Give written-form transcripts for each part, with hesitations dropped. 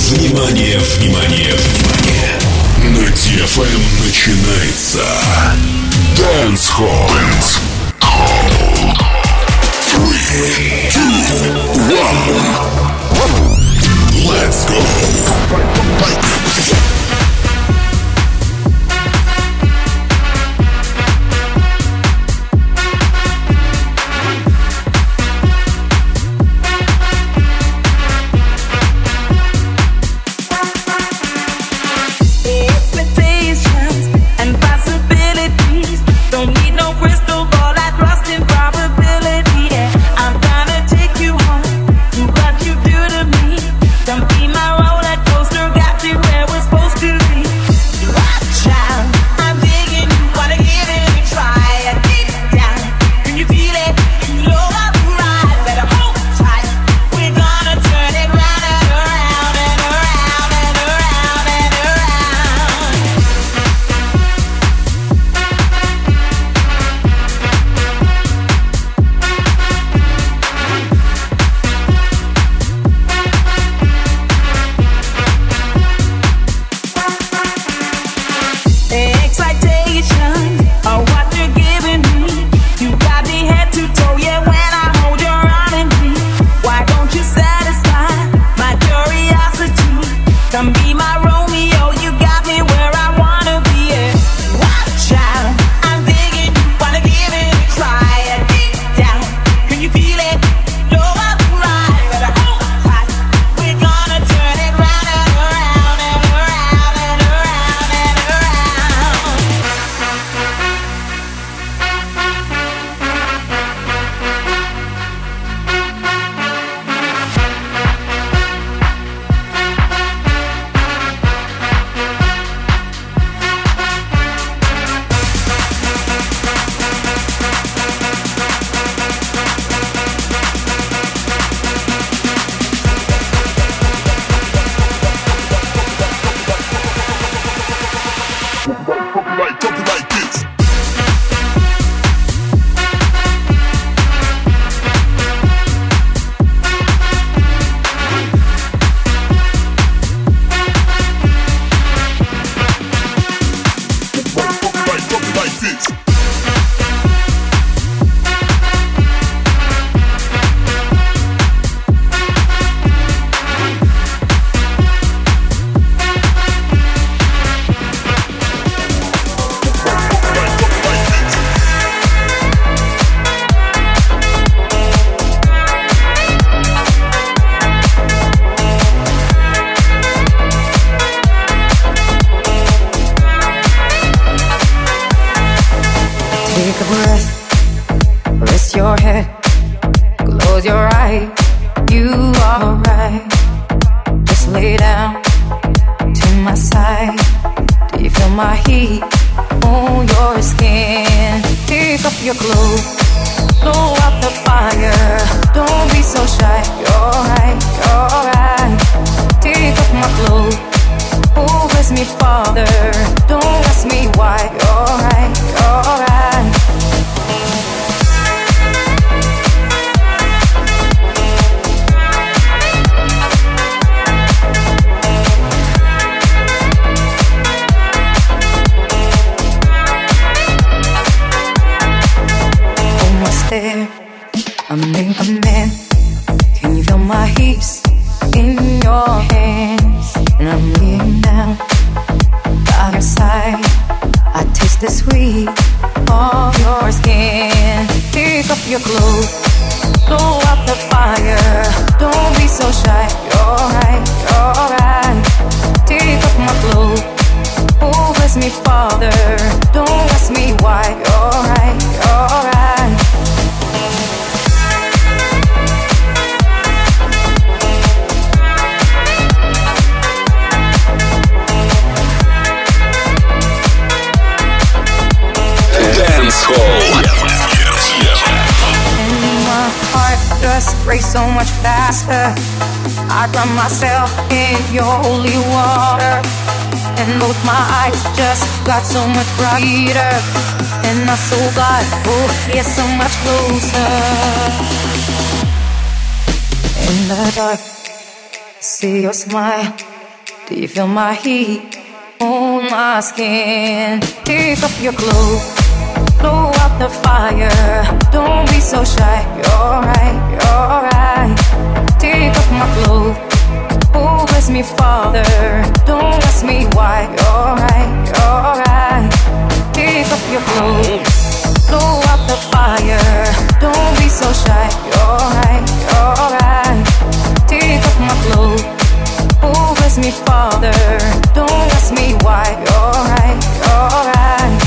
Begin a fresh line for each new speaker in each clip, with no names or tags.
Внимание, внимание, внимание! На DFM начинается Dance Hall. 3, 2, 1. Let's go!
I drown myself in your holy water, and both my eyes just got so much brighter, and my soul got, oh, yeah, so much closer. In the dark, see your smile, Do you feel my heat on my skin? Take off your clothes, blow out the fire. Don't be so shy, you're right, you're right. Take off my clothes, oh bless me Father. Don't ask me why, you're right, you're right. Take off your clothes, blow out the fire. Don't be so shy, you're right, you're right. Take off my clothes, oh bless me Father. Don't ask me why, you're right, you're right.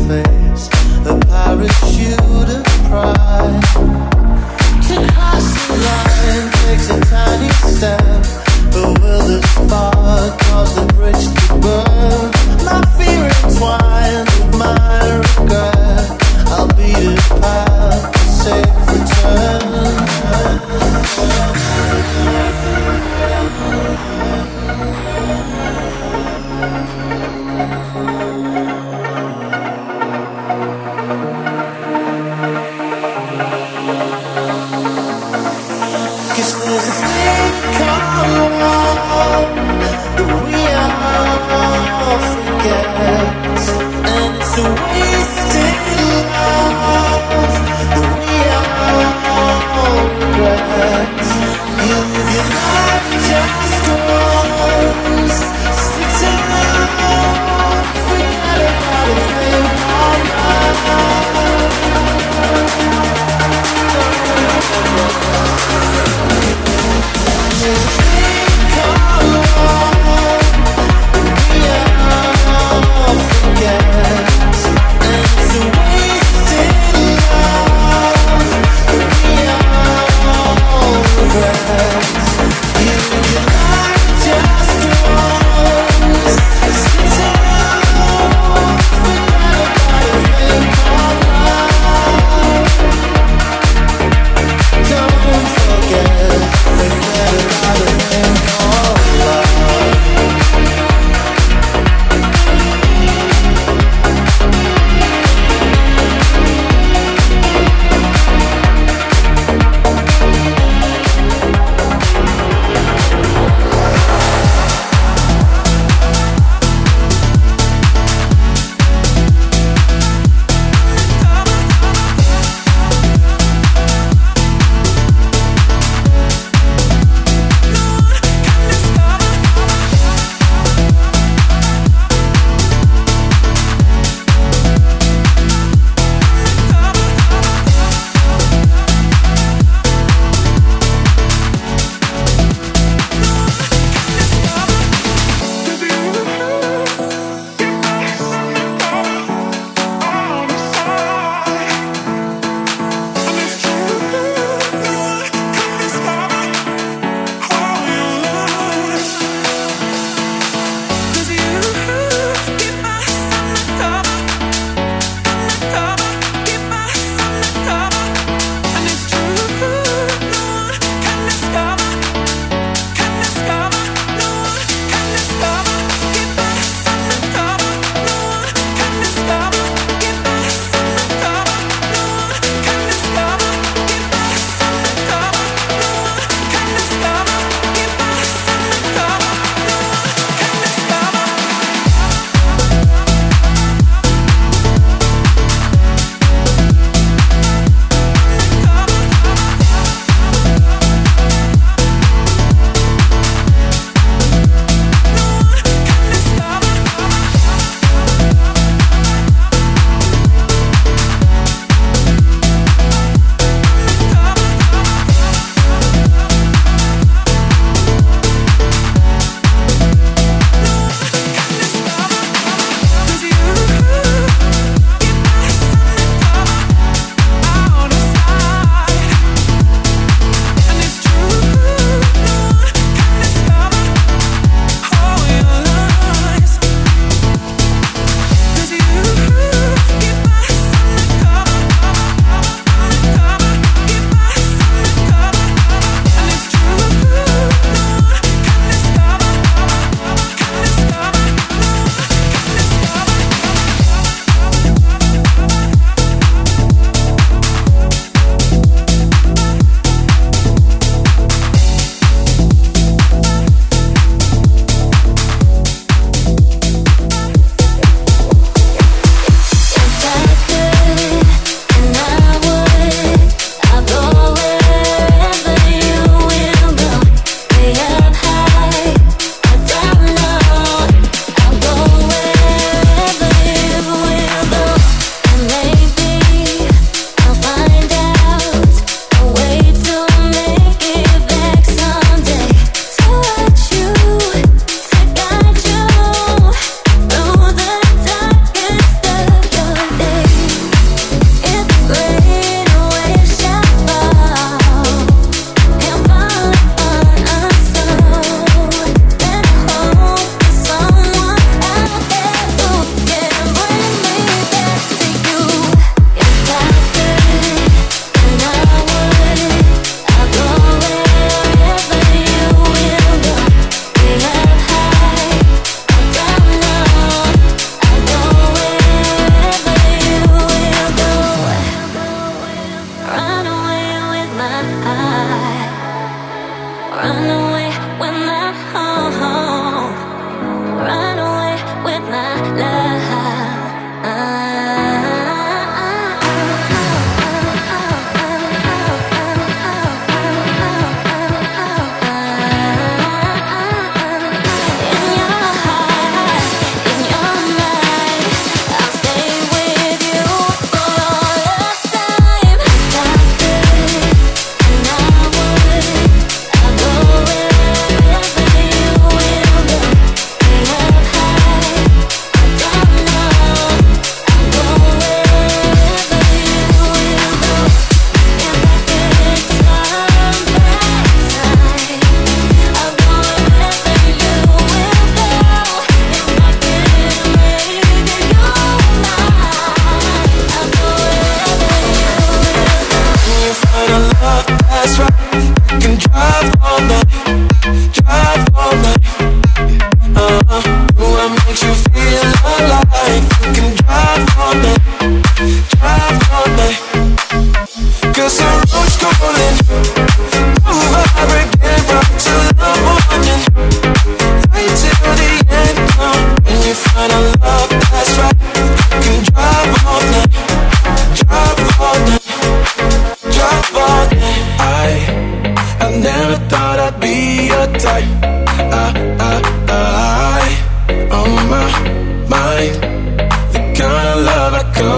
face, a parachute of pride. To cross the line takes a tiny step, but will the spark cause the bridge to burn? My fear entwined with my regret, I'll beat it past a safe return.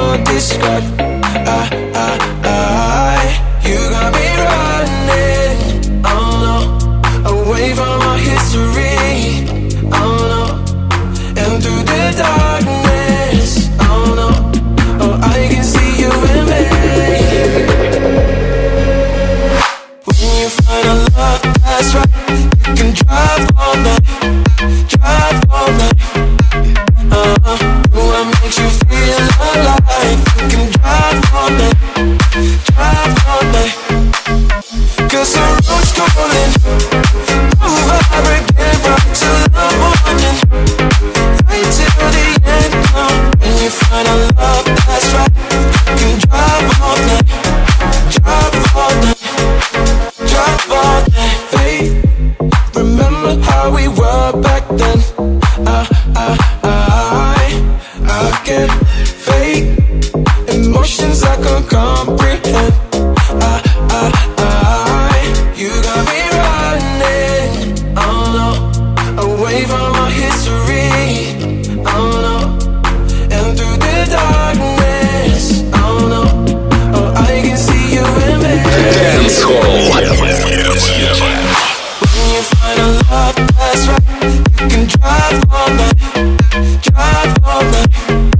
can't describe. You got me running, oh no, away from our history, oh no, and through the darkness, oh no, oh I can see you in me. When you find a love that's right, you can drive all night, drive all night. What makes you feel alive? You can drive all night, drive all night. 'Cause the road's calling, move over again, rock till the morning, right till the end. When you find a love that's right, you can drive all night, drive all night, drive all night. Babe, remember how we were back then? I get fake emotions I can't comprehend. You got me running, oh no, away from our history, oh no, and through the darkness, oh no, oh I can see you in me.
Dance Hall.
When you find a love that's right, you can drive all night, drive all night.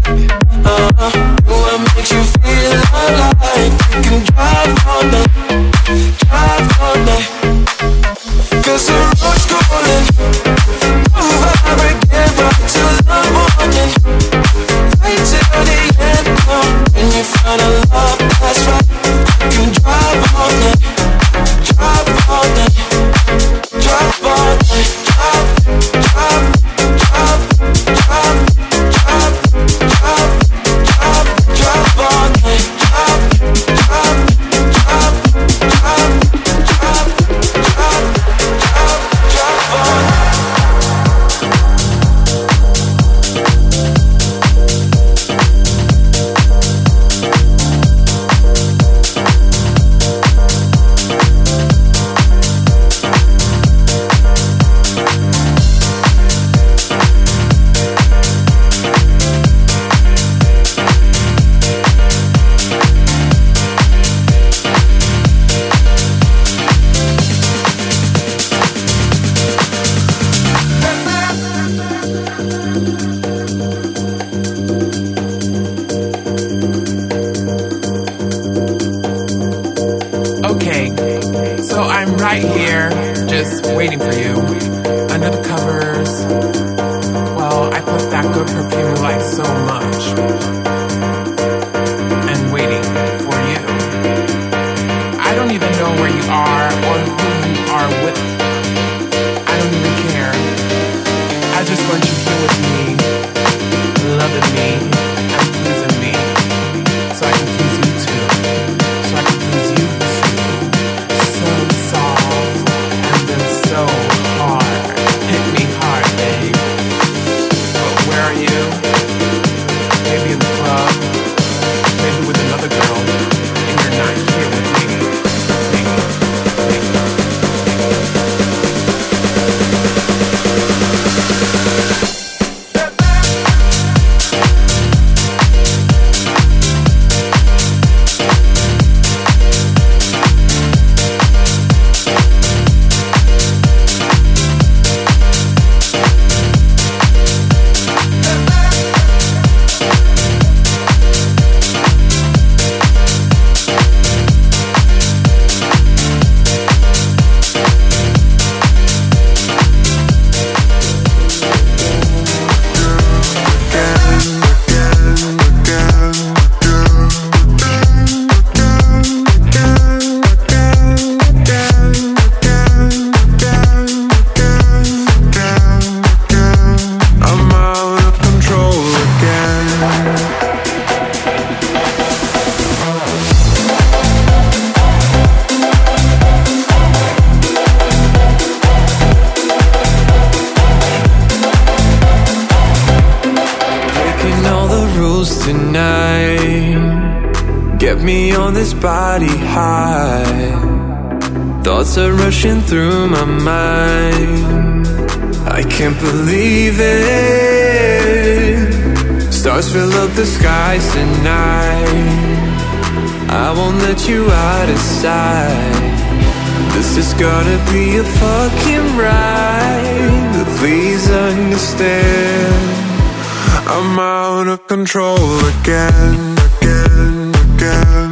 What makes you feel alive? You can drive all night, drive all night. 'Cause the road's calling, move over again, rock till the morning, right till the end. When you find a love that's right, you can drive all night, drive all night, drive all night, drive, drive, drive, drive, drive, drive, drive, drive all night, drive, drive, drive, drive, drive, drive, drive all night.
Okay, so I'm right here, just waiting for you, under the covers. Well, I put that good perfume you like so much, and waiting for you. I don't even know where you are or who you are with. I don't even care. I just want you here with me, loving me and pleasing me, so I can please you too, so I can please you too. So soft and then so hard. Hit me hard, babe. But where are you? Maybe in the club, maybe with another girl, and you're not here with me.
Get me on this body high. Thoughts are rushing through my mind. I can't believe it.
Stars fill up the skies tonight. I won't let you out of sight. This is gonna be a fucking ride, but please understand, I'm out of control again, again, again.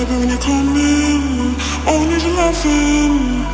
baby, when you come in, all I need is loving.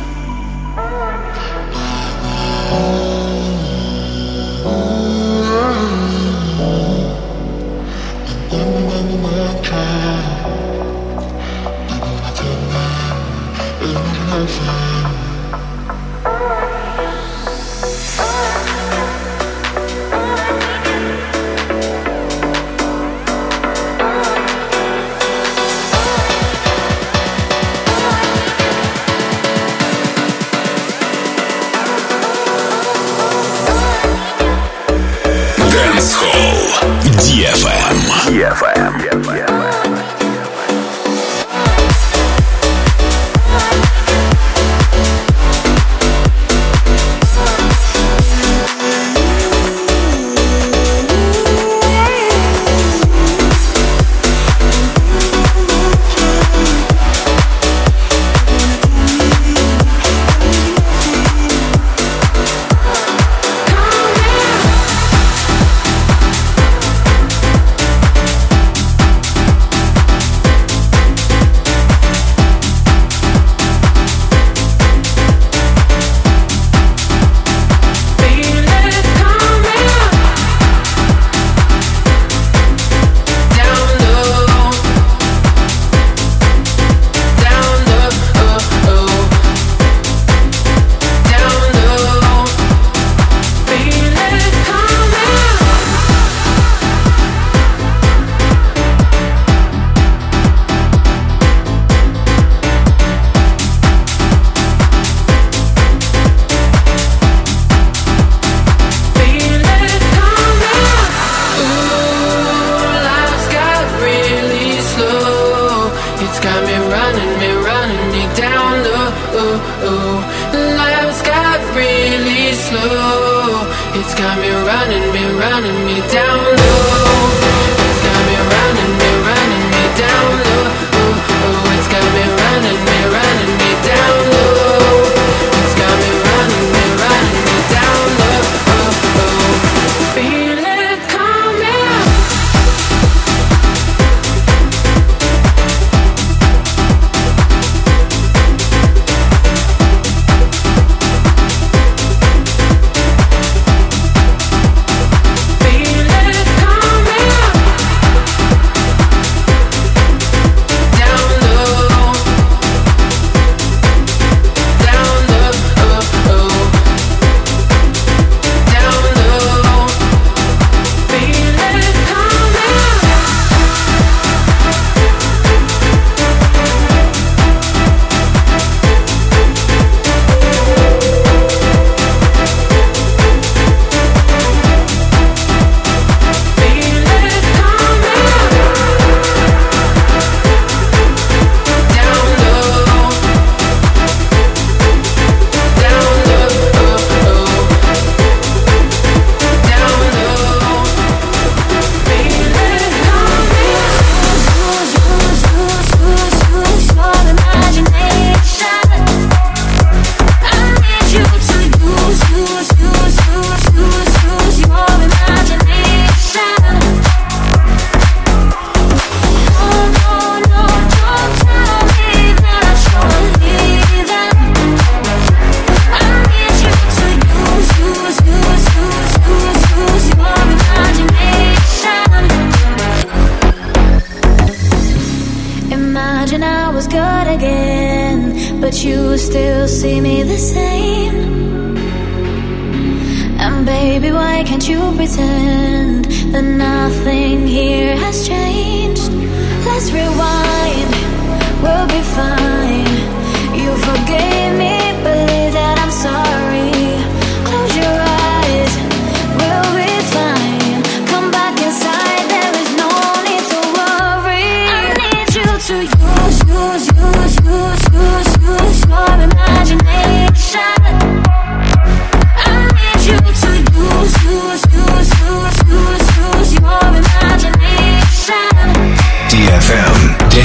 DFM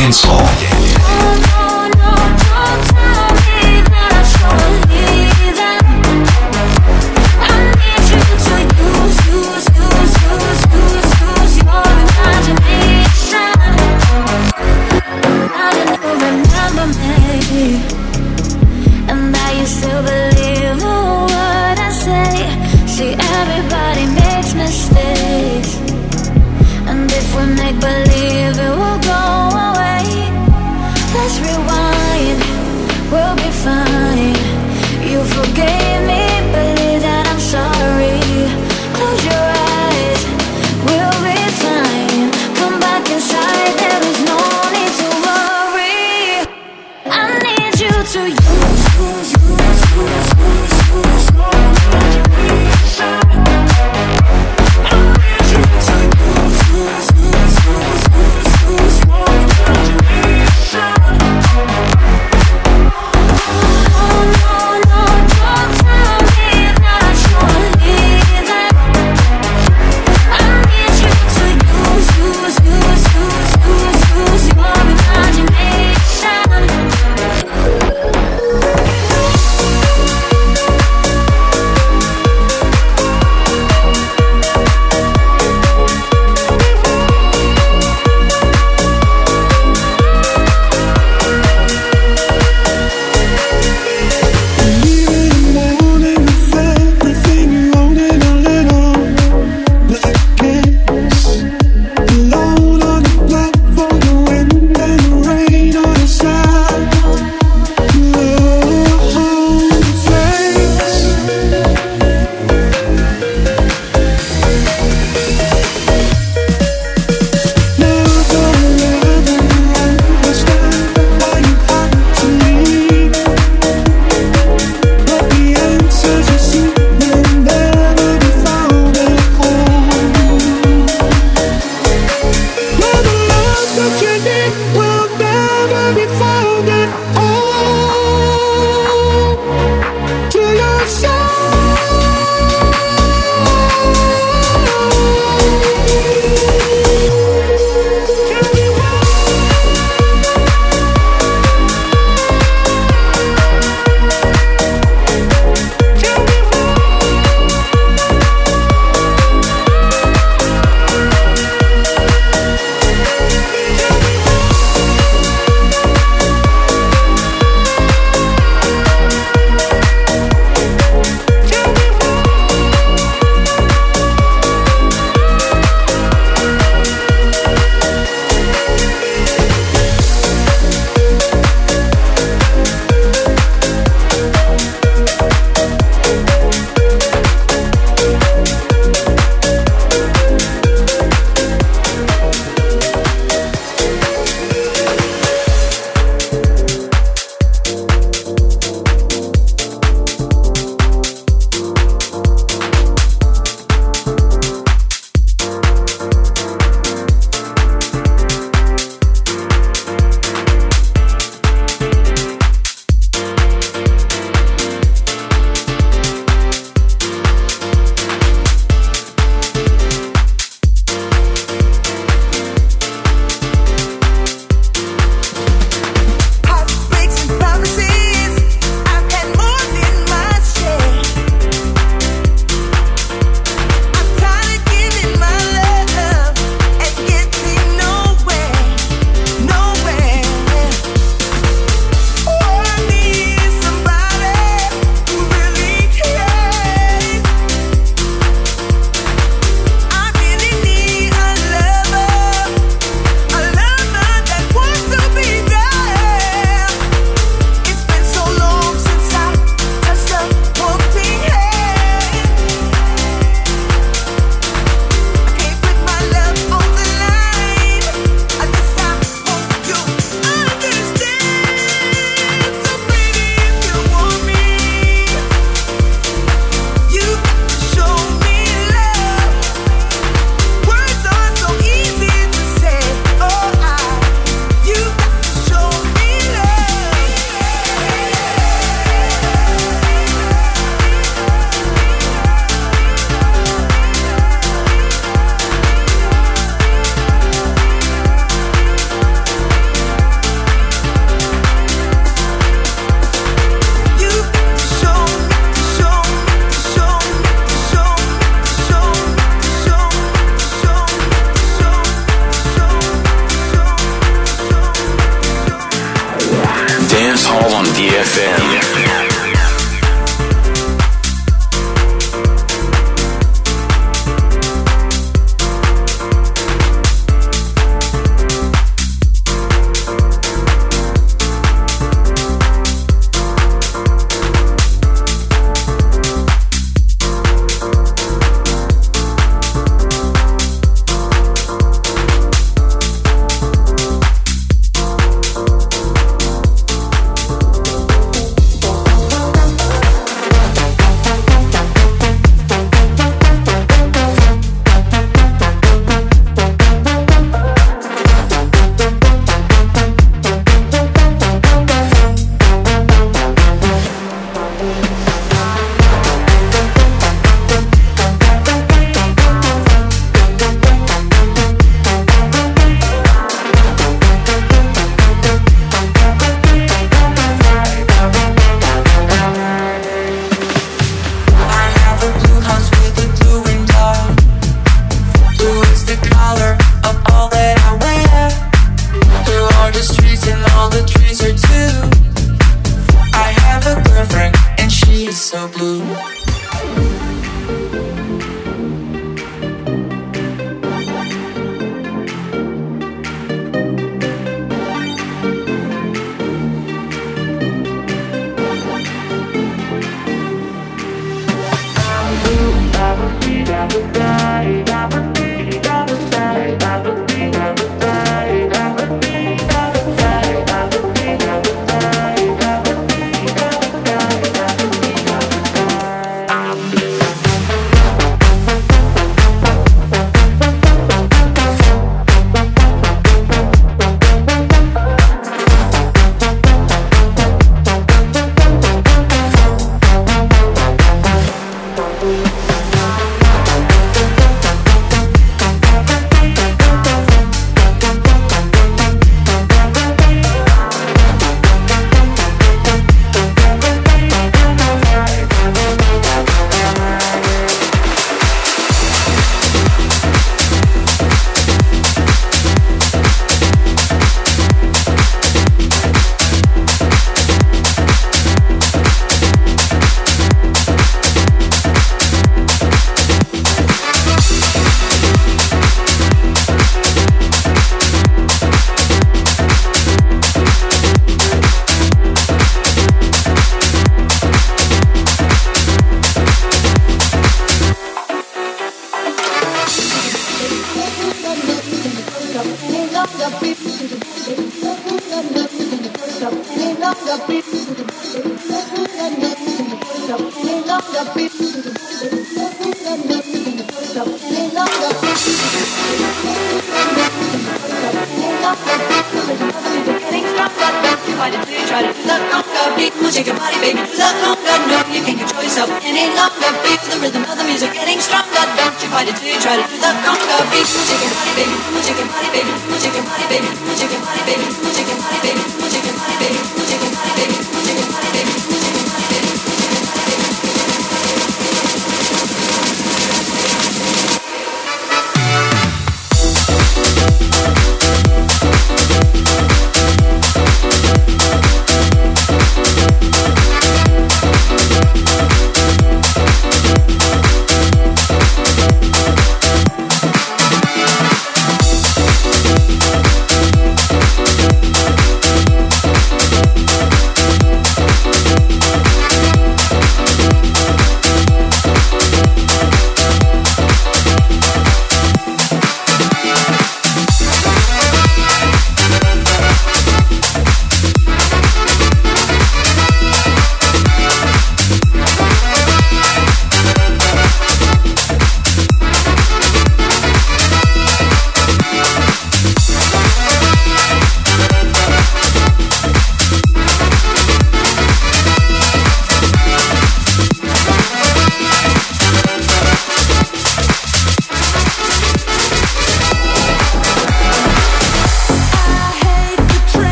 DFM.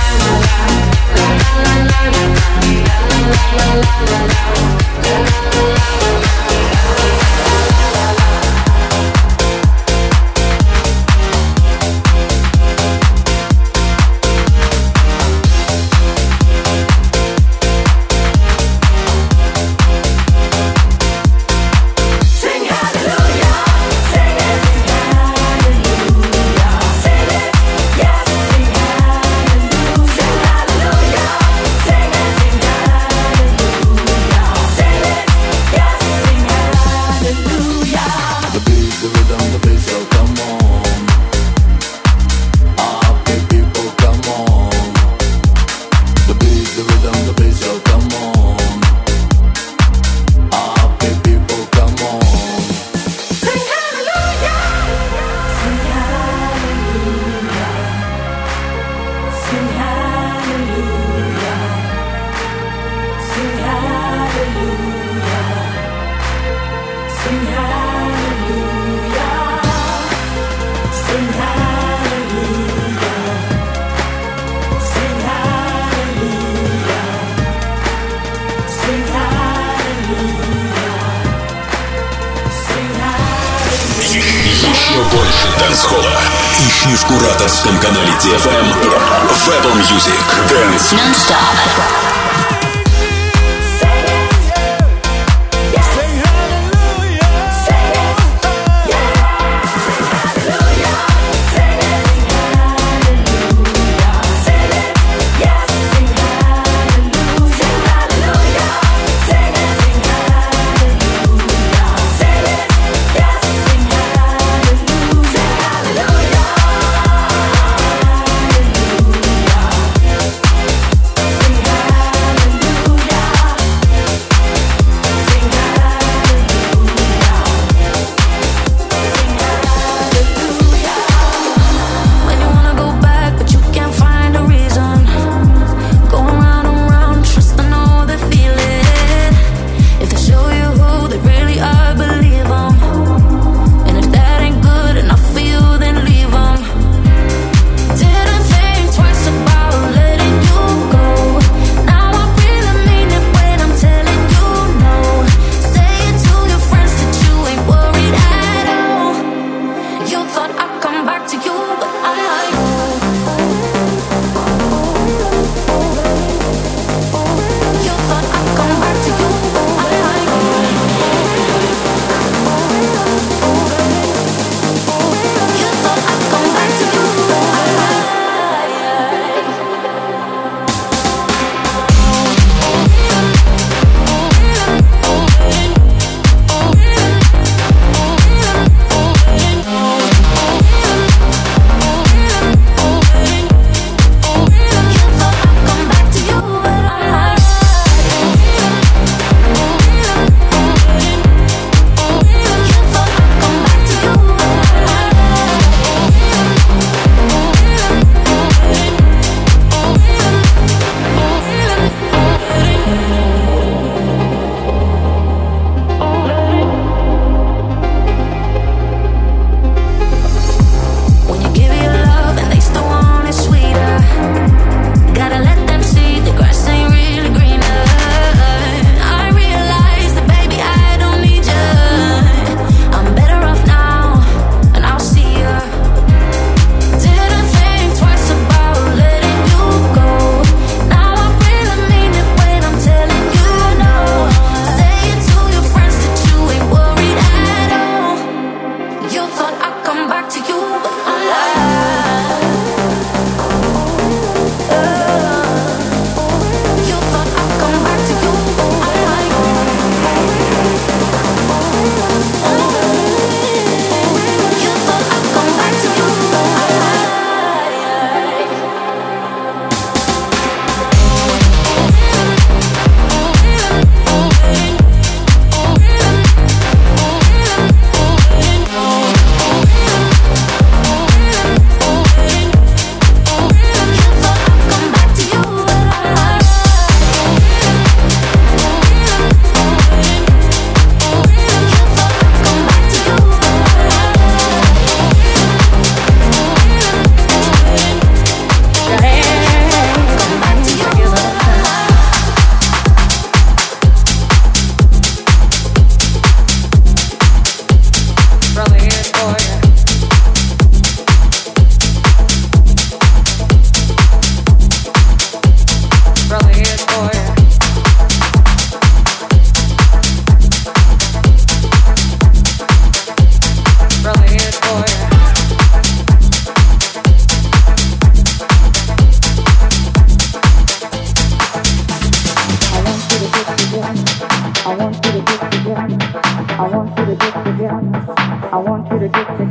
Ищи в кураторском канале TFM в Apple Music Dance Non-Stop.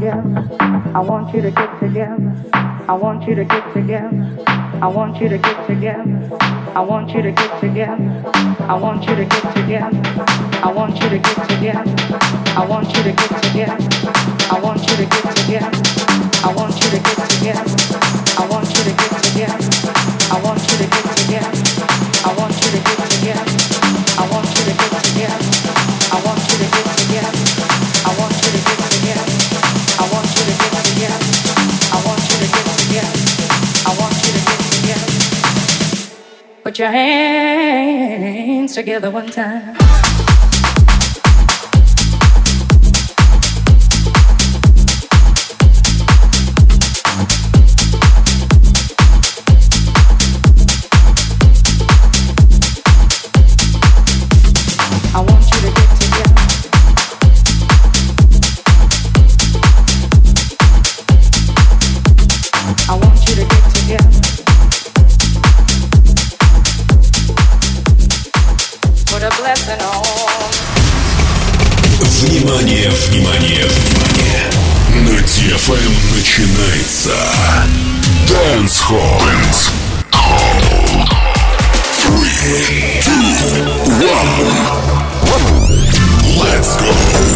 together. I want you to get together. I want you to get together. I want you to get together. I want you to get together. I want you to get together. I want you to get together. I want you to get together. I want you to get together. I want you to get together. I want you to get together. I want you to get together. I want you to get together. I want you to get together. I want you to get together. I want you to get together. I want you to get together. I want you to get together. I want you to get together. Put your hands together one time.
Внимание, внимание, внимание! На DFM начинается Dance Hall. 3, 2, 1. Let's go!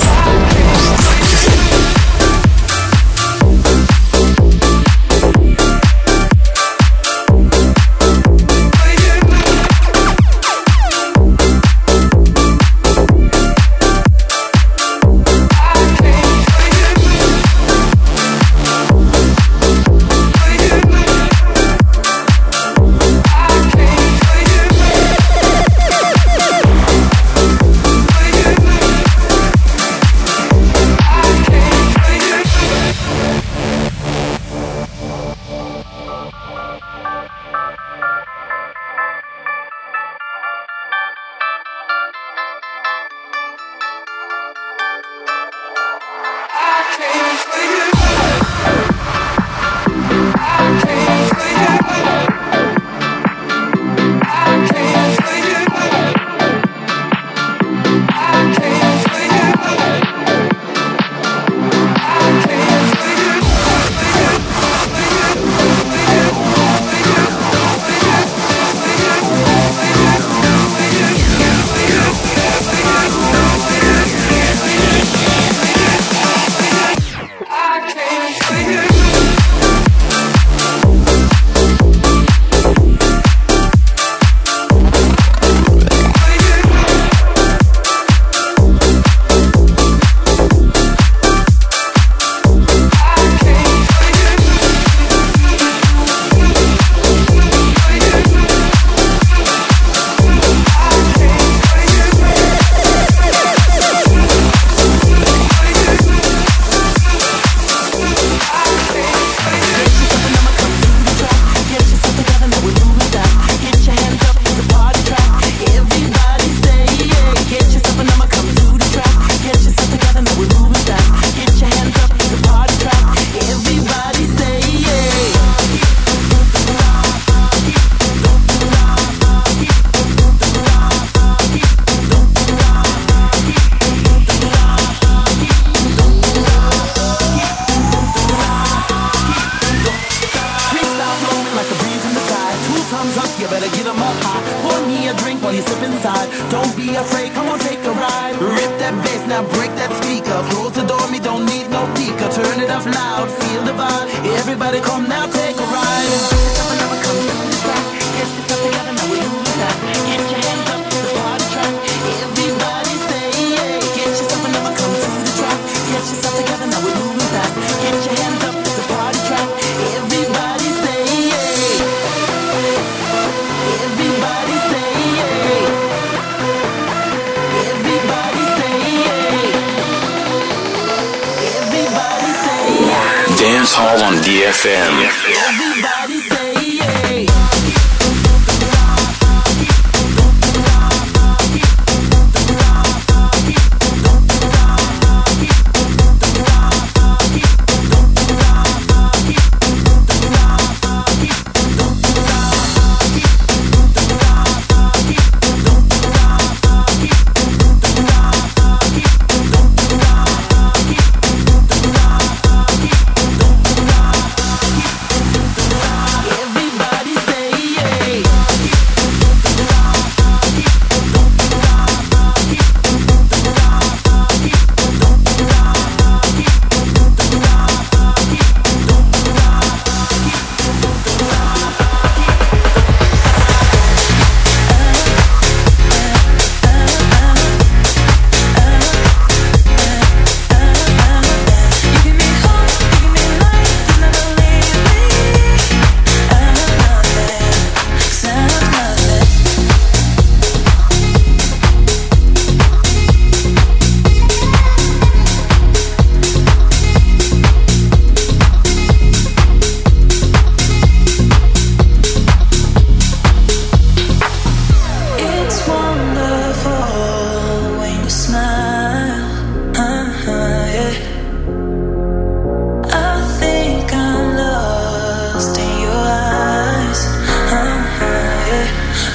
Dance Hall on DFM.
Everybody say yeah.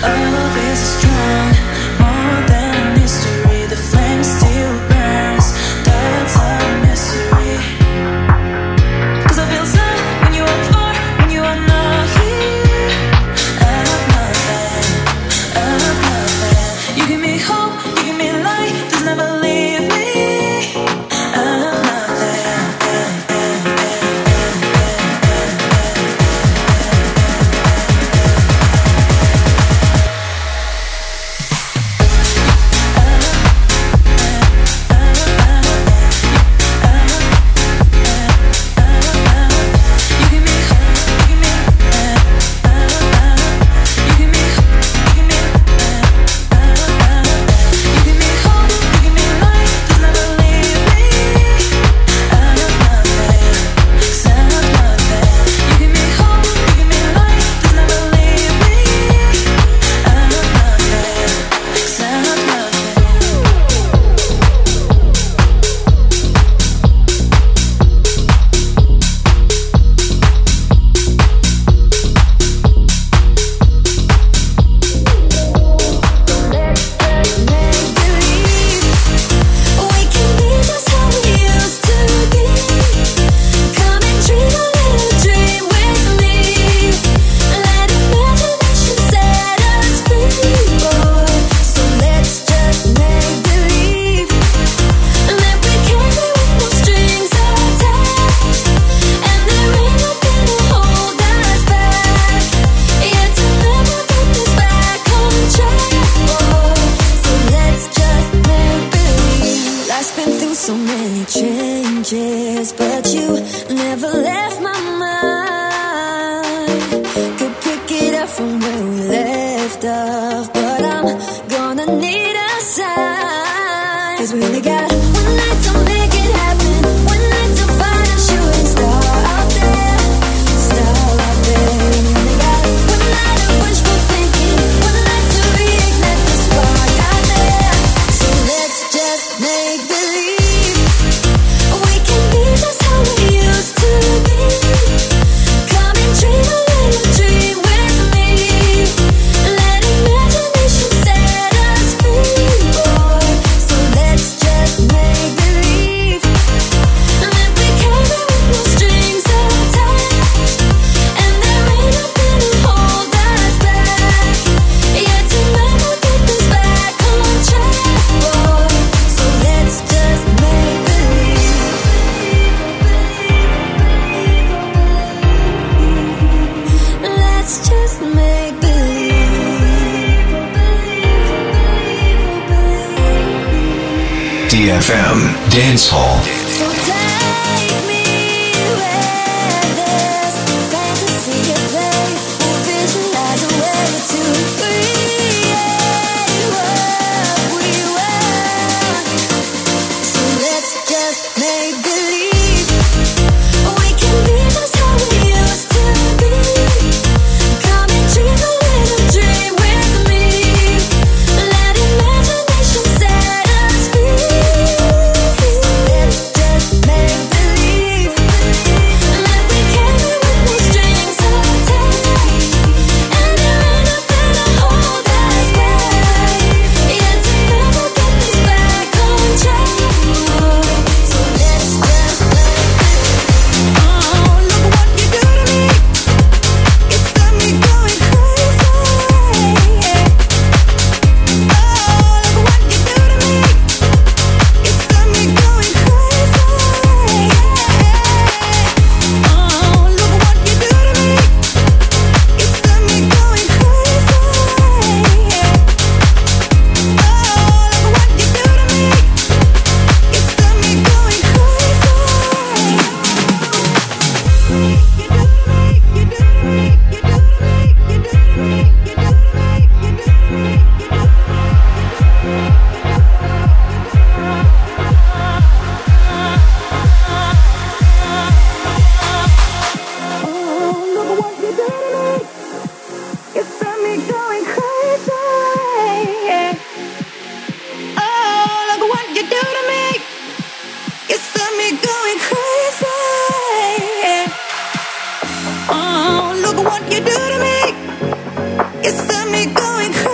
DFM Dance Hall.
What you do to me, it's got me going crazy.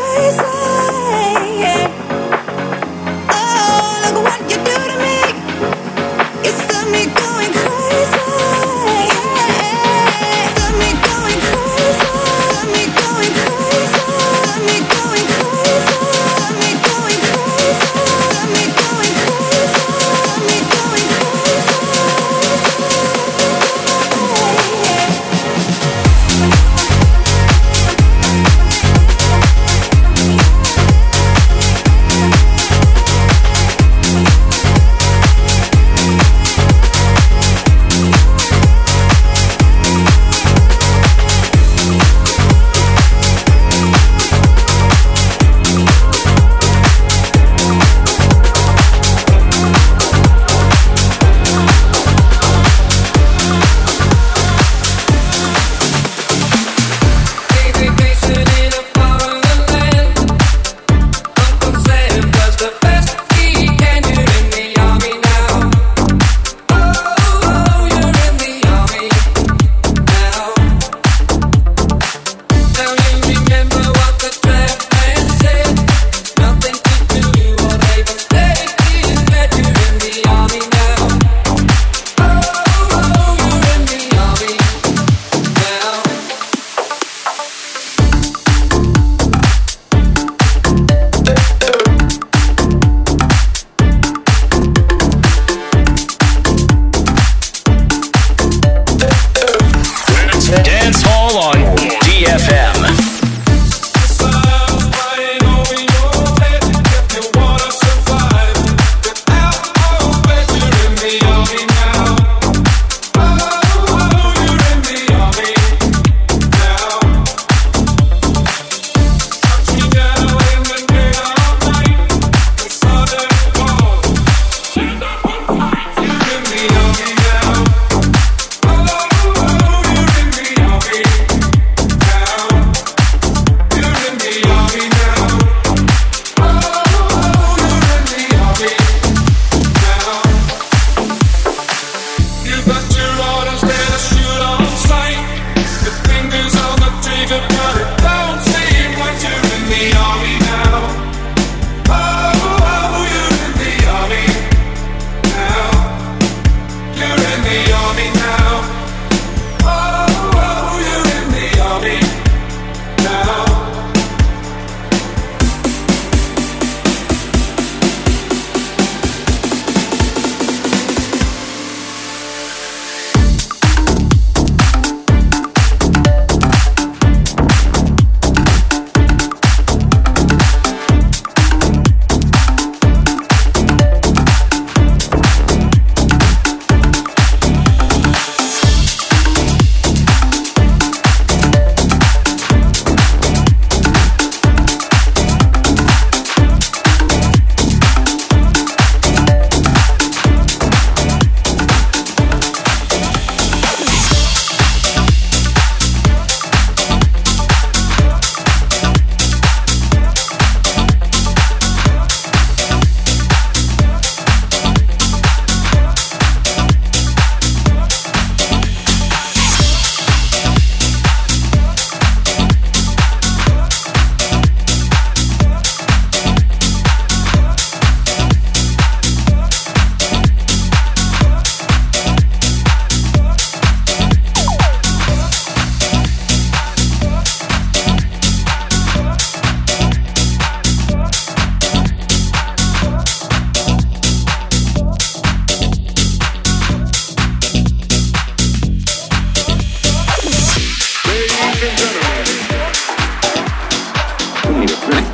need a drink.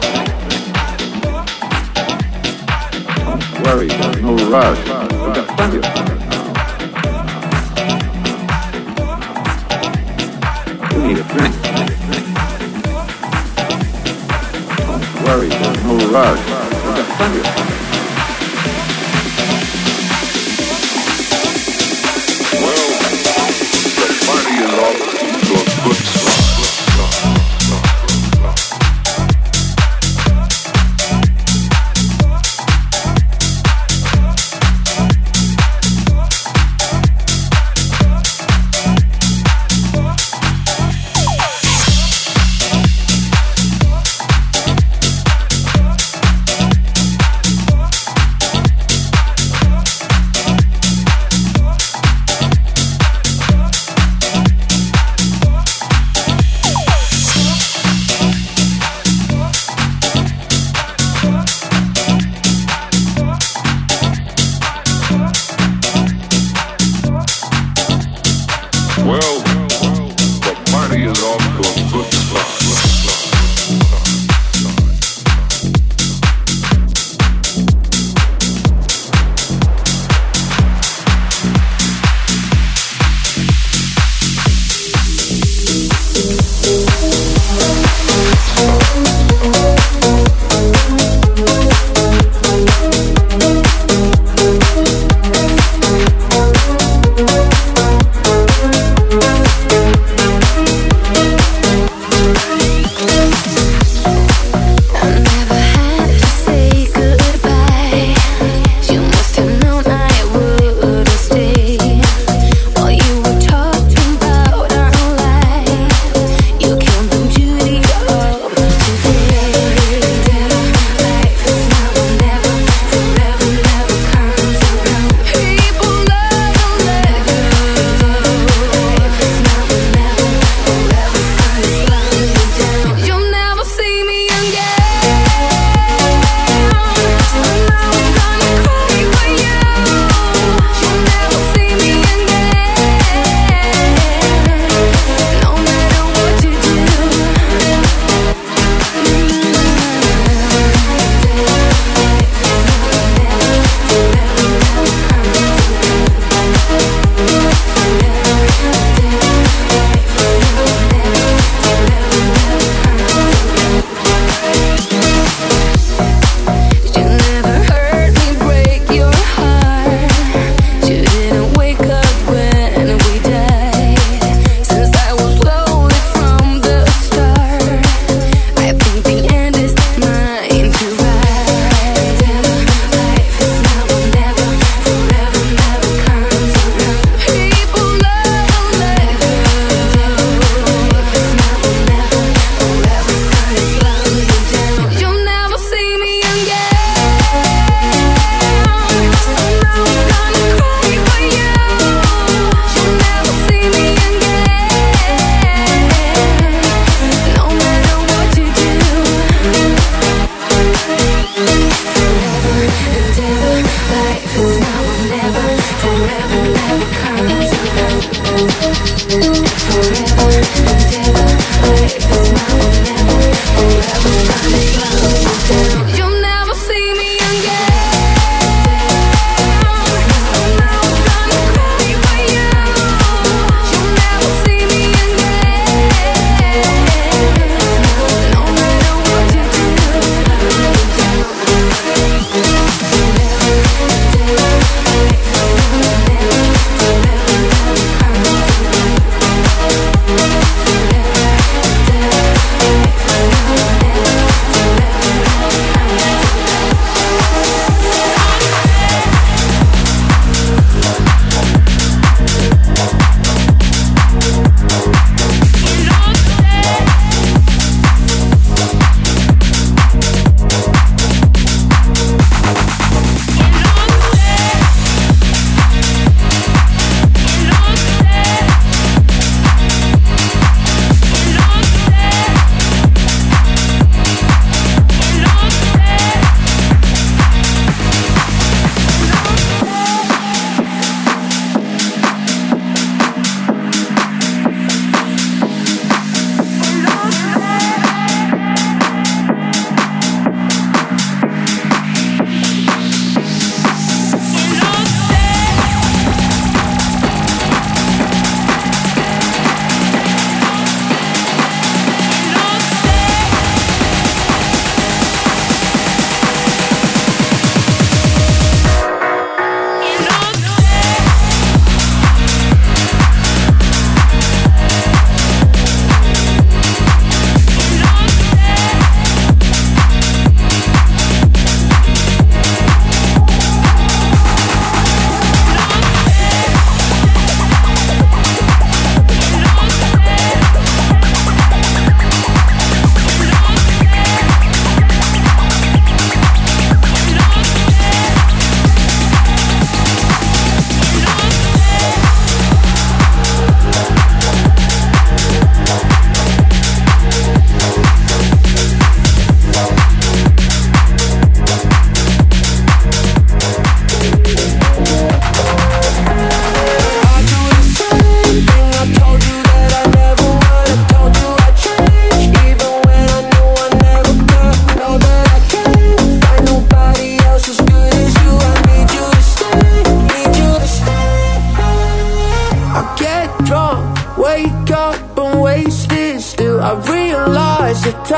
Don't worry, there's no rush. We've got plenty of time. You need a drink. Don't worry, there's no rush. We've got plenty of time.
Well, the party is off to a good start.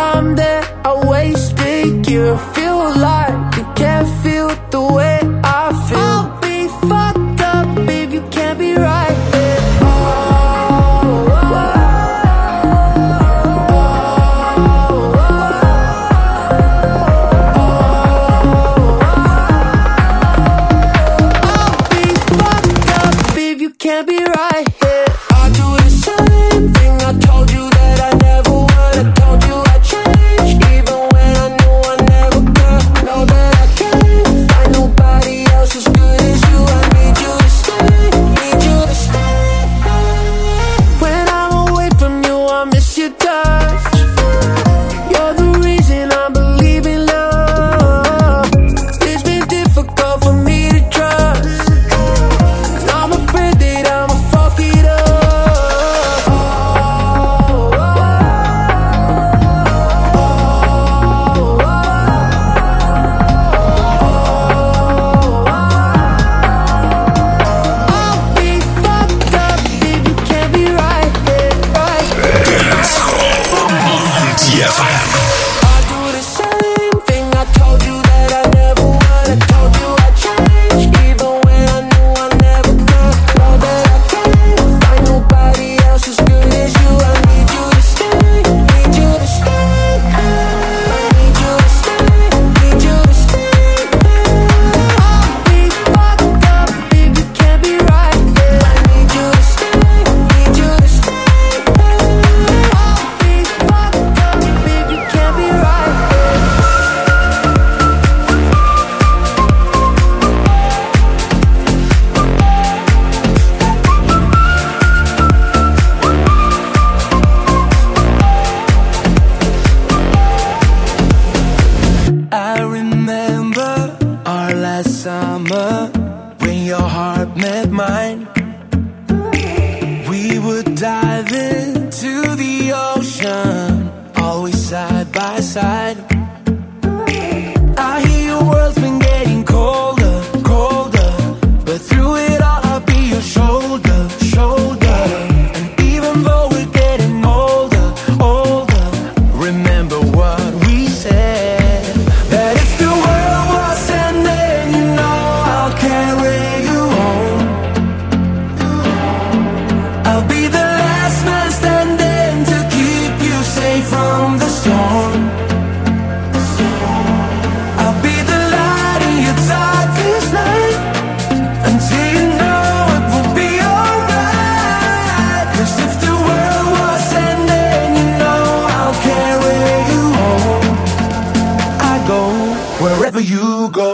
I'm there, I wasted you. Feel like you can't feel the way I feel. I'll be fucked up if you can't be right there. Can't be right here. I do the same thing. I told you that I never would. I told you I'd change, even when I knew I never could. Know that I can't find nobody else as good as you. I need you to stay, need you to stay. When I'm away from you, I miss your touch. You're the reason I believe in love. It's been difficult for me to trust. I'm afraid that I'ma fuck it up. I'll be fucked up if you can't be right here, right here.
DFM.
I do the same thing. I told you that I never would. I told you I'd change, even when I knew I never could. Know that I can't find nobody else as good as you. I need you to stay, need you to stay. Need you to stay, need you to stay. I'll be fucked up if you can't be right here. I need you to stay, need you to stay. I'll be fucked up if you can't be right here. I remember our last summer when your heart met mine. We would dive into the ocean, always side by side. I hear your world's been getting colder, colder, but through it all I'll be your shoulder, shoulder. And even though we're getting older, older, remember what we said, that if the world was ending, you know I'll carry you home. I'll be the last man standing to keep you safe from the storm. I'll be the light in your darkest night, until you know it will be alright. 'Cause if the world was ending, you know I'll carry you home. I go wherever you go.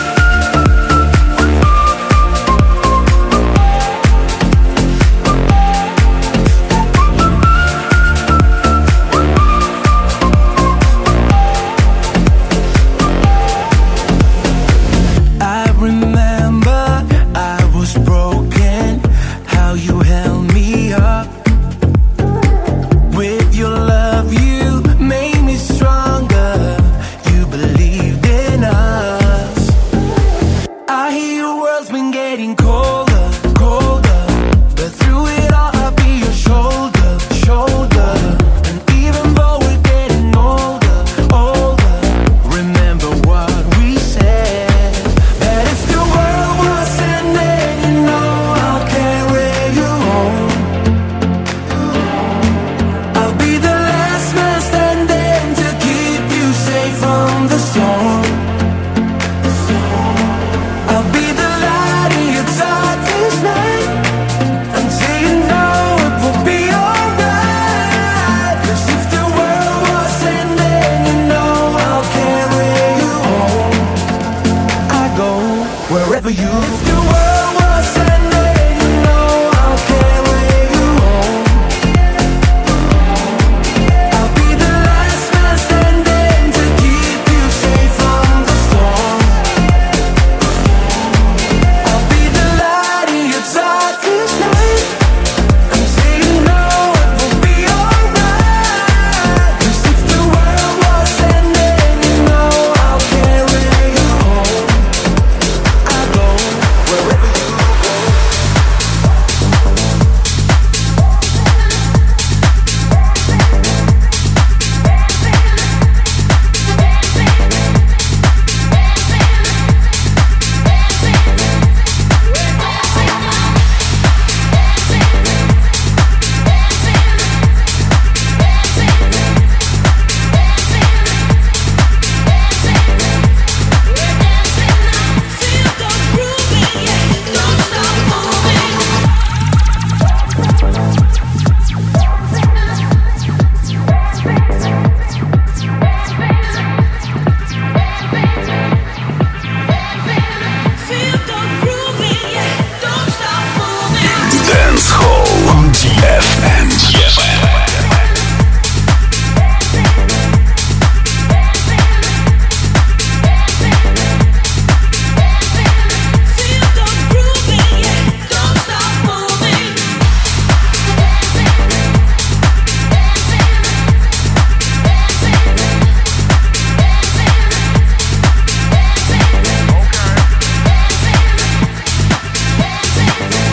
I remember I was broken, how you held me up. With your love you made me stronger. You believed in us.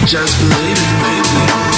Just believe it, baby.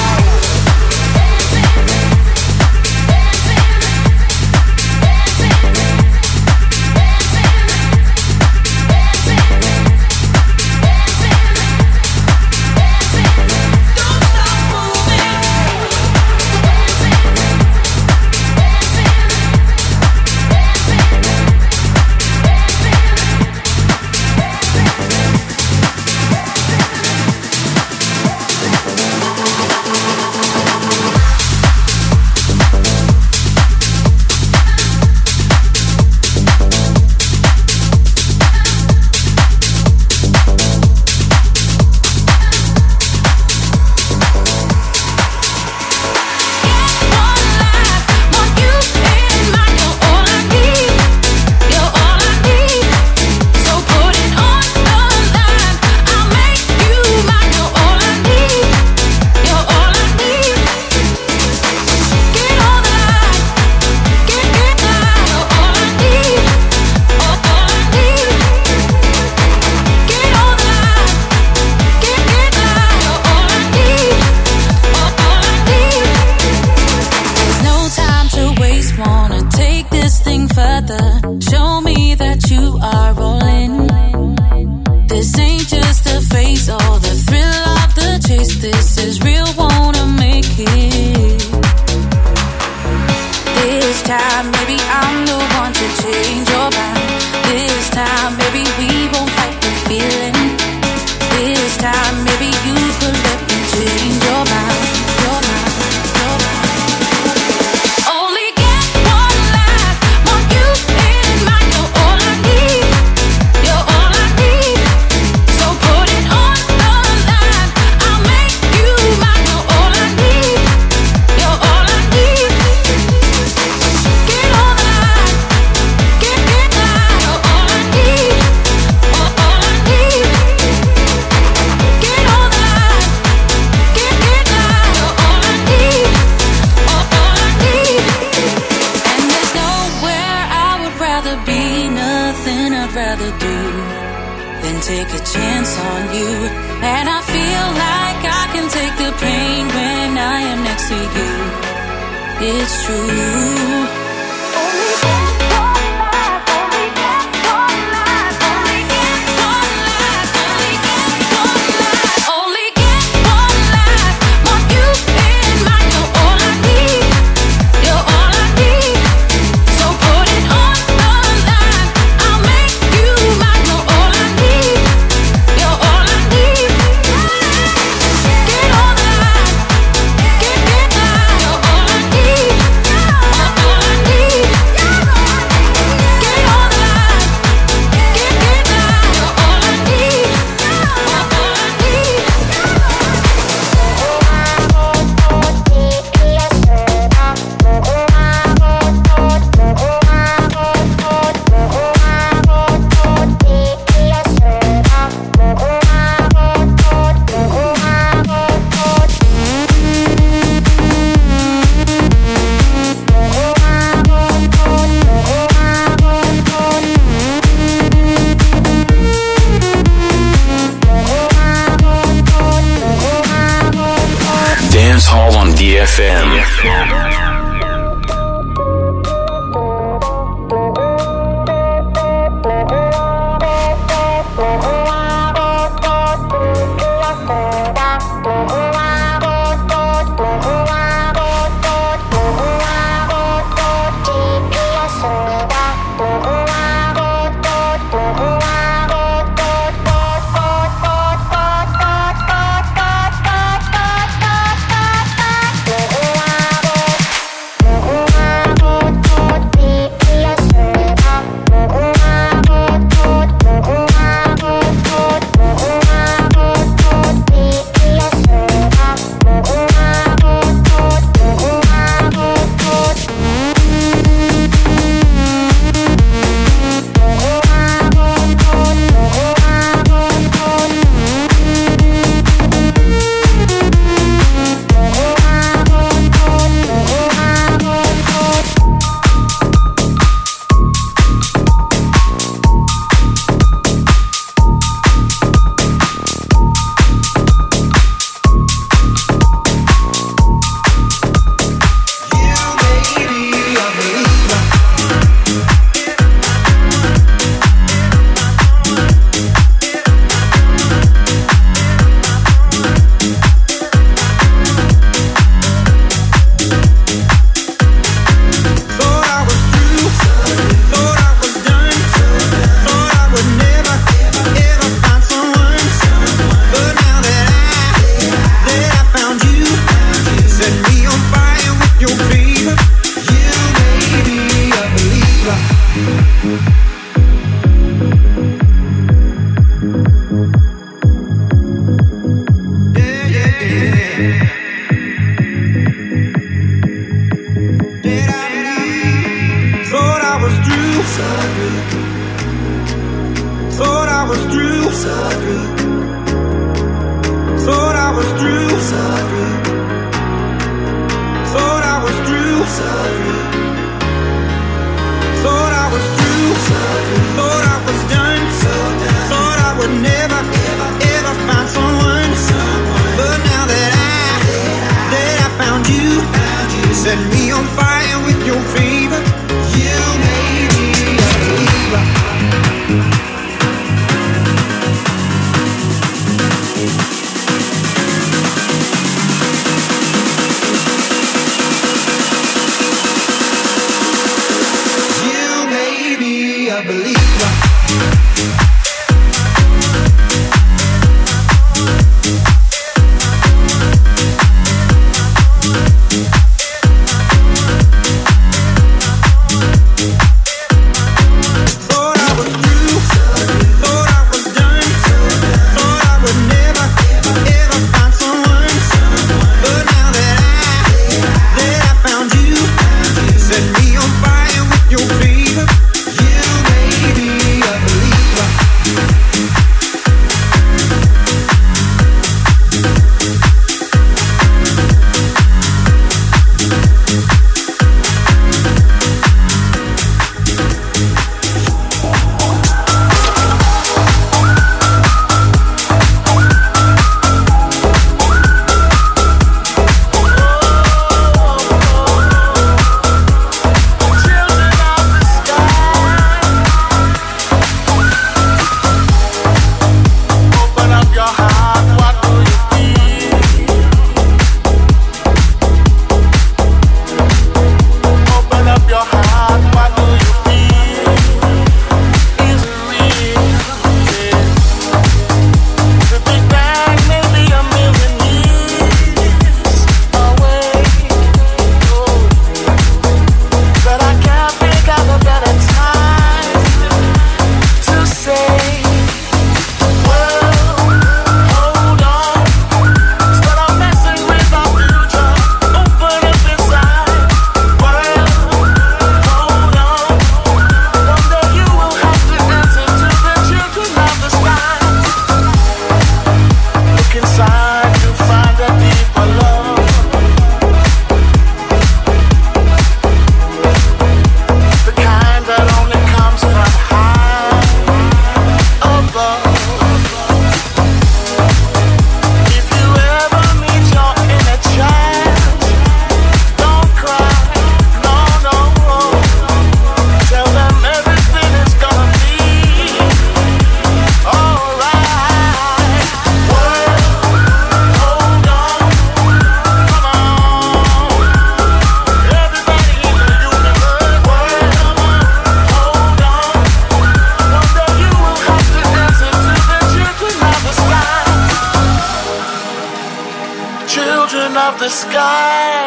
of the sky.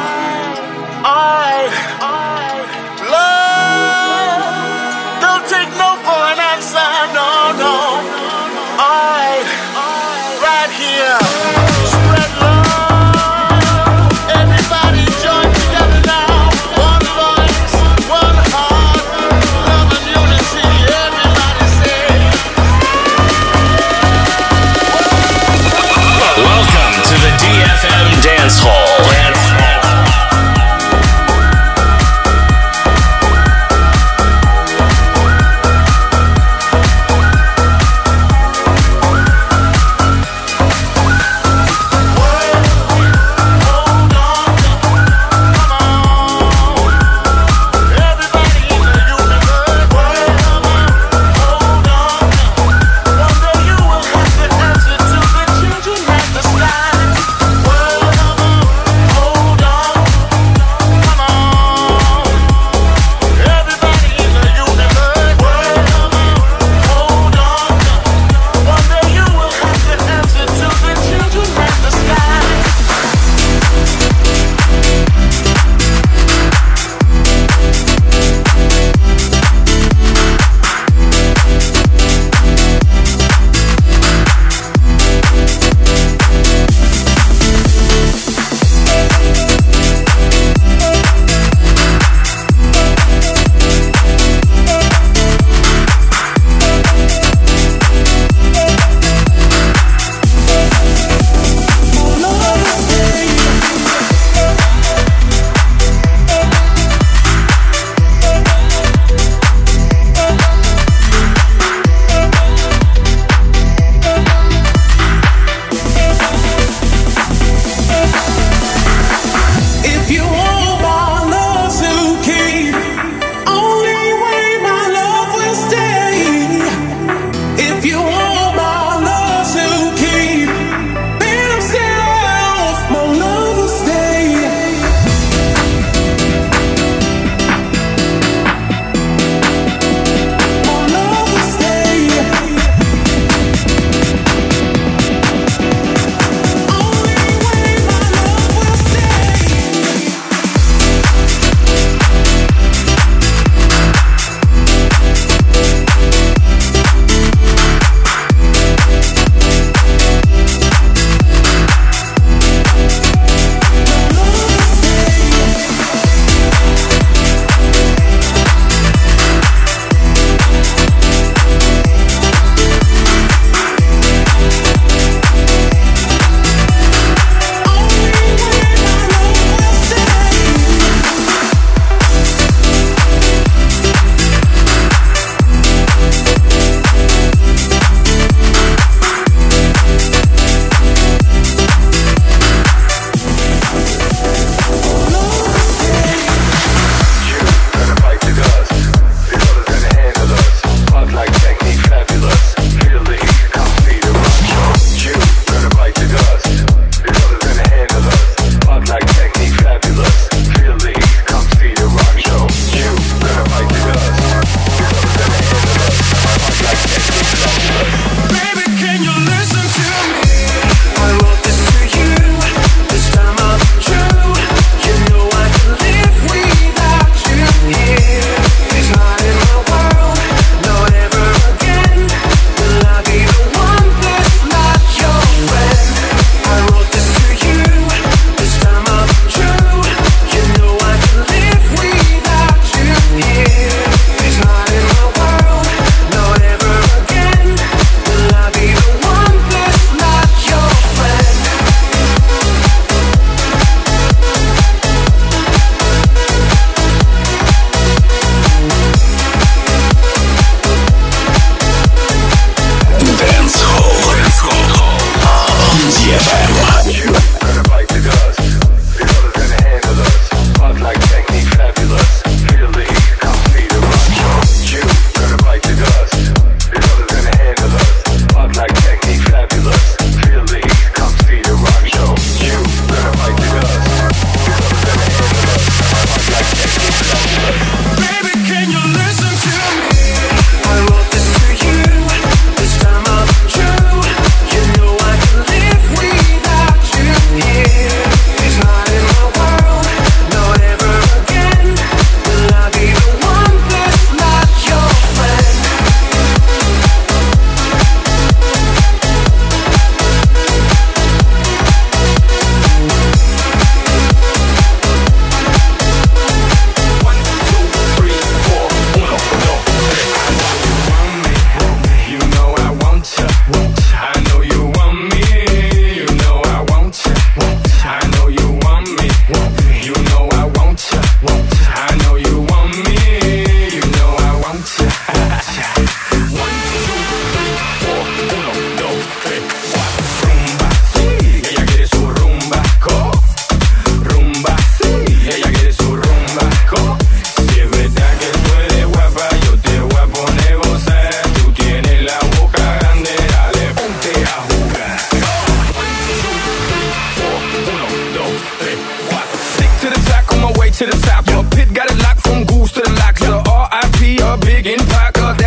Alright, love, don't take no for an answer, no, no. Alright, right here, spread love. Everybody join together now. One voice, one heart, love and unity. Everybody say.
Welcome to the DFM Dance Hall.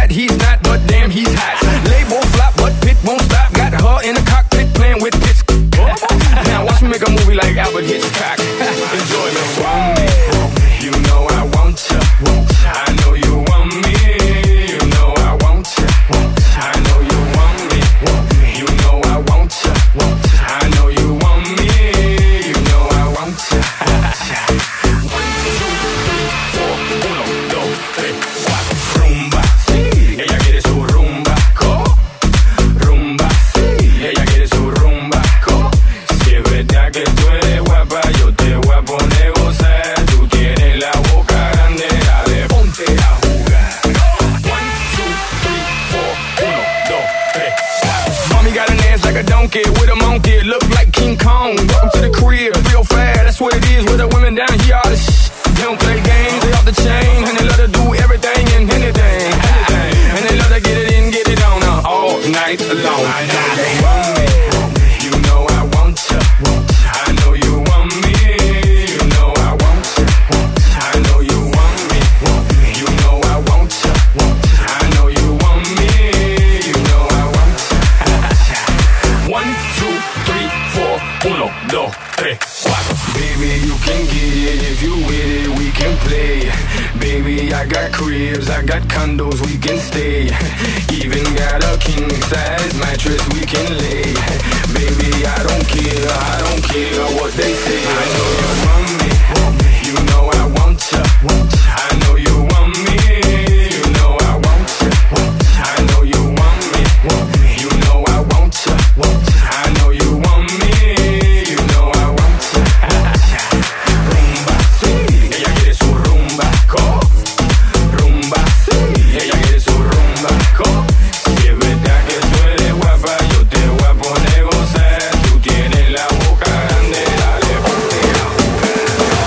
that he's not, but damn, he's hot. Label flop, but Pit won't stop. Got her in the cockpit playing with Pitts. Now watch me make a movie like Albert Hitchcock. Enjoy me, want me. You know I want ya. I know you want me. You know I want ya. I know you want me. You know I want ya. I know you want me. You know I want ya. 1, 2, 3, 4, 1, 2, 3, 4. Rumba, sí, ella quiere su rumba, rumba, sí, ella quiere su rumba, si es verdad que tú eres guapa, yo te voy a poner gozar. Tú tienes la boca grande, dale, ponte a jugar. 1, 2, 3, 4, 1, 2, 3, 4. Mommy got an ass like a donkey with a monkey, look like King Kong. Welcome to the crib, real fast, that's what it is with the women down here. All the they don't play games, they off the chain, and they love to do everything and anything. And they love to get it in, get it on all night long. I know you want me, you know I want ya. I know you want me, you know I want ya. I know you want me, you know I want ya. I know you want me, you know I want ya. 1, 2, 3, 4, 1, 2, 3, 4. Baby, you can get it if you with it, we can play. Baby, I got cribs, I got condos, we can stay. Even got a king size mattress we can lay. Baby, I don't care what they say. I know you want me, you know I want ya. I know you want me, you know I want ya. I know you want me, you know I want ya. I know you want me, you know I want ya. Rumba, sí, ella quiere su rumba, rumba, sí, ella quiere su rumba, si es verdad que tú eres guapa, yo te voy a poner gozar. Tú tienes la boca grande, dale, ponte a jugar.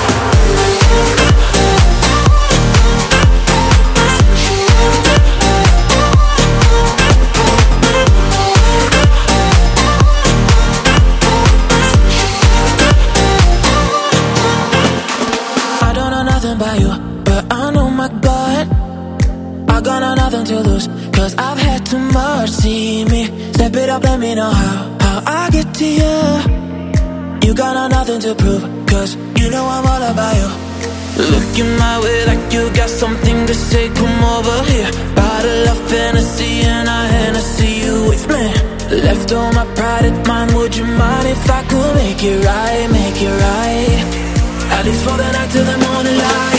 I don't know nothing about you, but I know my God. I got nothing to lose, cause I've had too much. See me, step it up, let me know how I get to you. You got nothing to prove, cause you know I'm all about you. Looking my way like you got something to say, come over here. Bottle of Hennessy and I Hennessy you with me. Left all my pride at mine, would you mind if I could make it right, make it right? At least for the night till the morning light.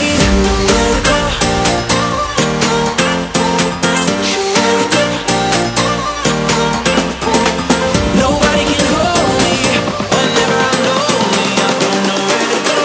Nobody can hold me whenever I'm lonely. I don't know where to go.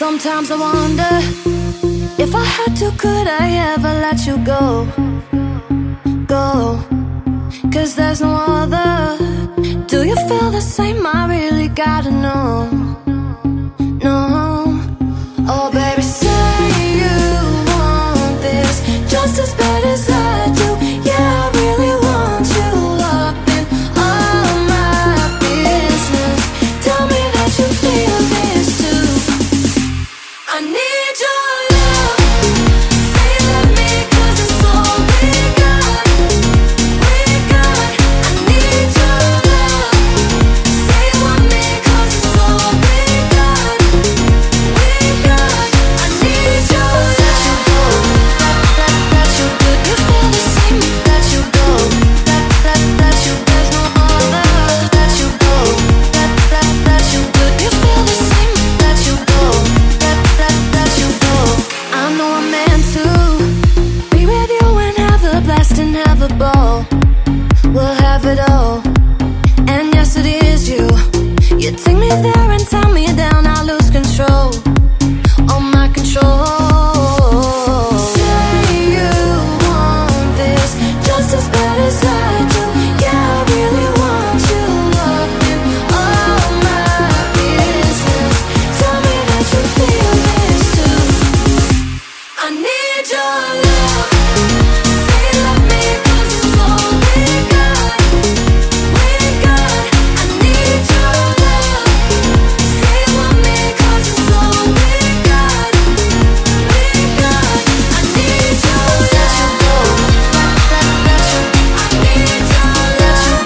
Sometimes I wonder if I had to, could I ever let you go? Go, 'cause there's no other. Do you feel the same? I really gotta know. No, oh baby, say you want this just as bad as I do. Yeah, I really want you up in all my business. Tell me that you feel this too. I need your love. Say you love me 'cause it's all we got. We got. I need your love. Say you want me 'cause it's all we got. We got. I need your love. Let you good. You feel the same. Let you go. Let you. There's no other. Let you go. Let you good. You feel the same. Let you go. Let you go. I know I'm meant to be with you and have a blast and have a ball. We'll have it all. And yes, it is you. You take me there and tie me down. I lose control. All my control. Say you want this just as bad as I do. Yeah, I really want you up in all my business. Tell me that you feel this too. I need your love. Say you love me 'cause it's all we got. We got. I need your love. Say you want me 'cause it's all we got. We got. I need your love. Let you. I need your love.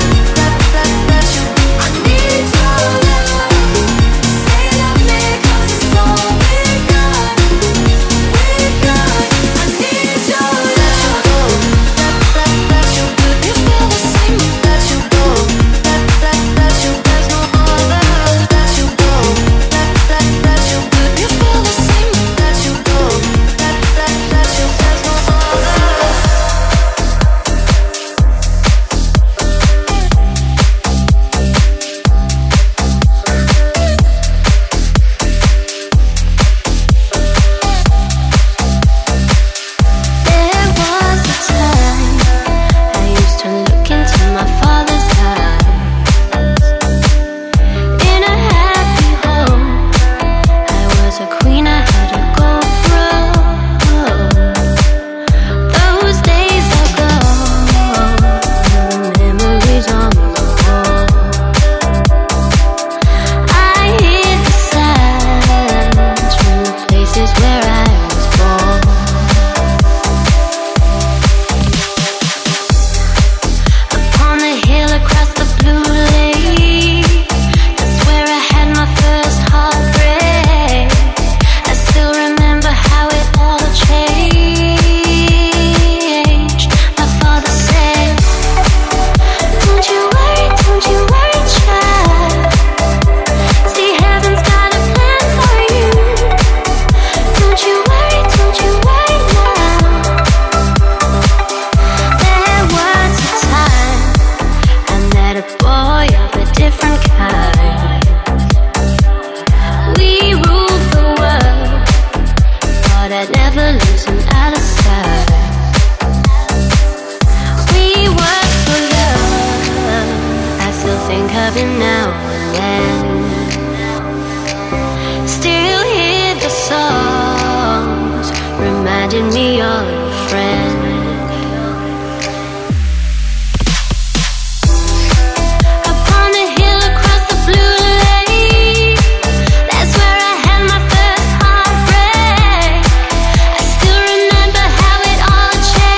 Let you. I need your love. Say you love me 'cause it's all we got. We got. I need your love. Let you good. You feel the same. Let you go. Let you. There's no other. Let you go. Let you good. You feel the same. Let you go. Let you. There's no other. There was a time I used to look into my father's eyes. In a happy home, I was a queen, I had a gold throne. Those days are gone, memories on the wall. I hear the sounds from the places where I was born. Upon the hill across the blue lake, that's where I had my first heartbreak. I still remember how it all changed. My father said, don't you worry, child. See, heaven's got a plan for you. Don't you worry now. There was a time I met a boy of a different kind. We ruled the world, thought I'd never lose him out of sight. We were so young, I still think of him now and then. Still hear the songs, reminding me of a friend. Upon the hill across the blue lake, that's where I had my first heartbreak. I still remember how it all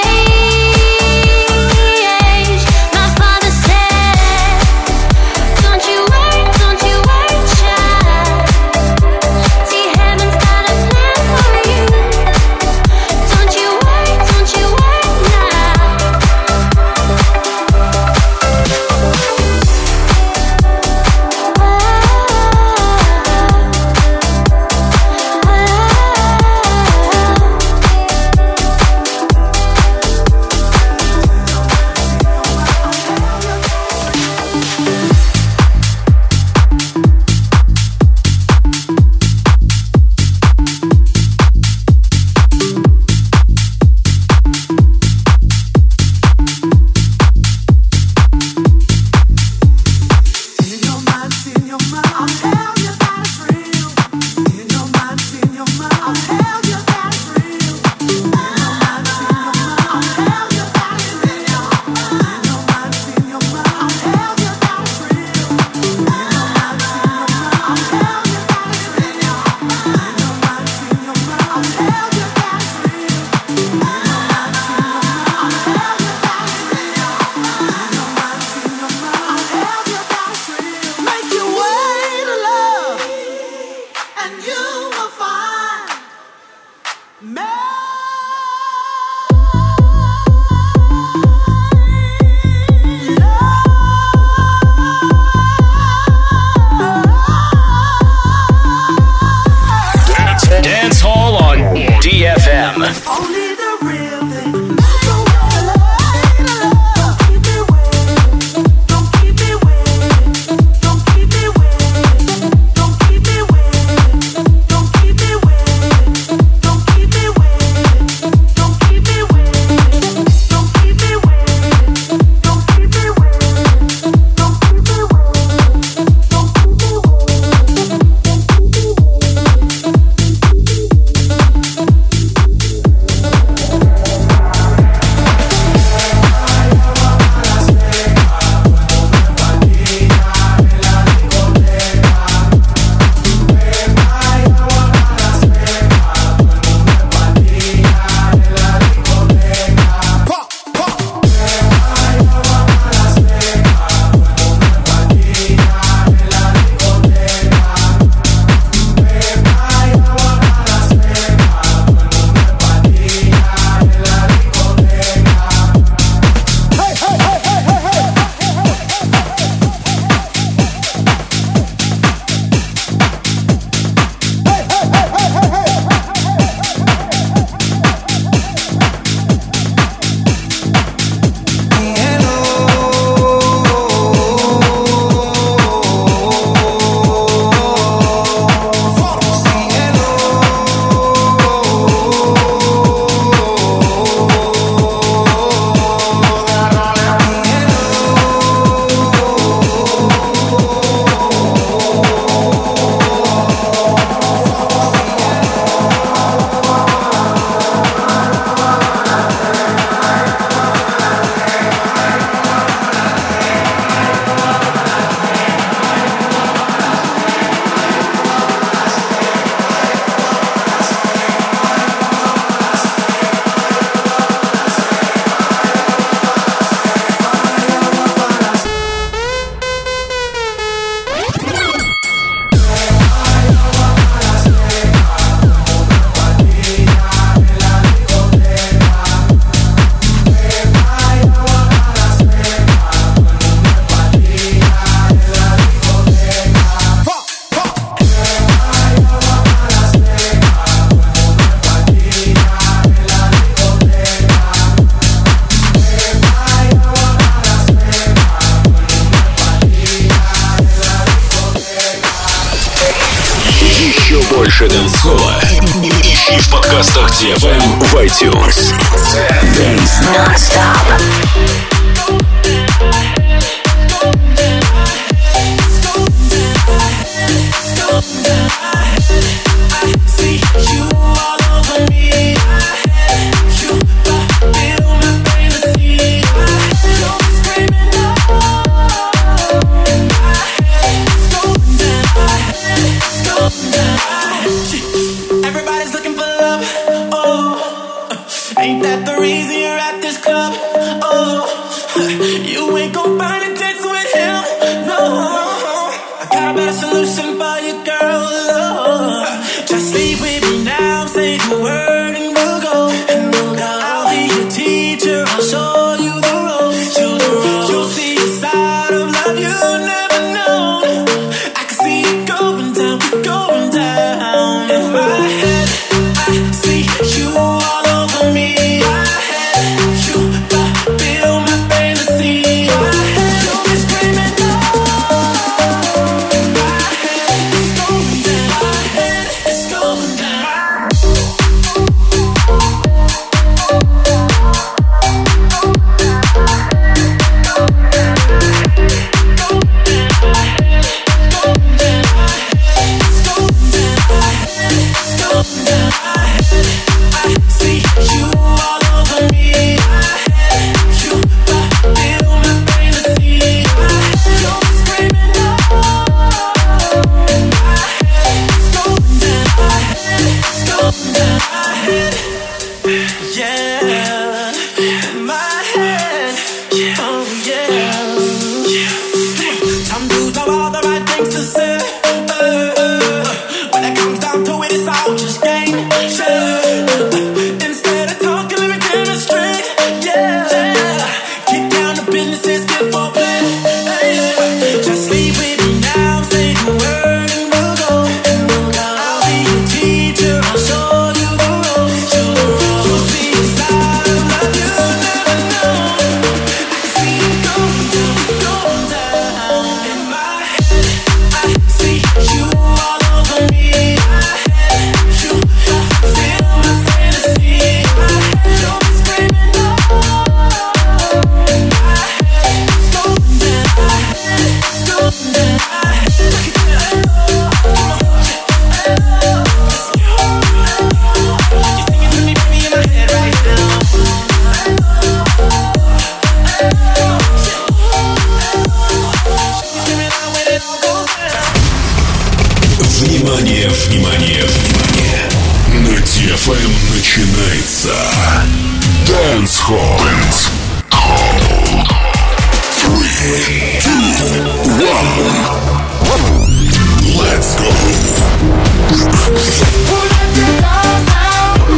changed. My father said, don't you worry, child. See, heaven's got a plan for you. Don't you worry
Dance Hall on DFM.
Only the real thing.
Больше дэнс-холла ищи в подкастах DFM в iTunes. Dance Non-Stop.
Everybody's looking for love. Oh, ain't that the reason you're at this club? Oh, you ain't gon' find a dance with him. No, I got a better solution for you, girl. Oh, just leave with me now. Say the word and we'll go. And we'll go. I'll be your teacher. I'll show you the ropes. You'll see a side of love you never known. I can see it going down, going down. In my head, I see you all over me. My head, you fulfill my fantasy. My head, you'll be screaming no. My head, it's going down. My head, it's going down. When it comes down to it, it's all just game.
Столица. Dance Hall. 3, 2, 1. Let's go.
Who let the dogs out?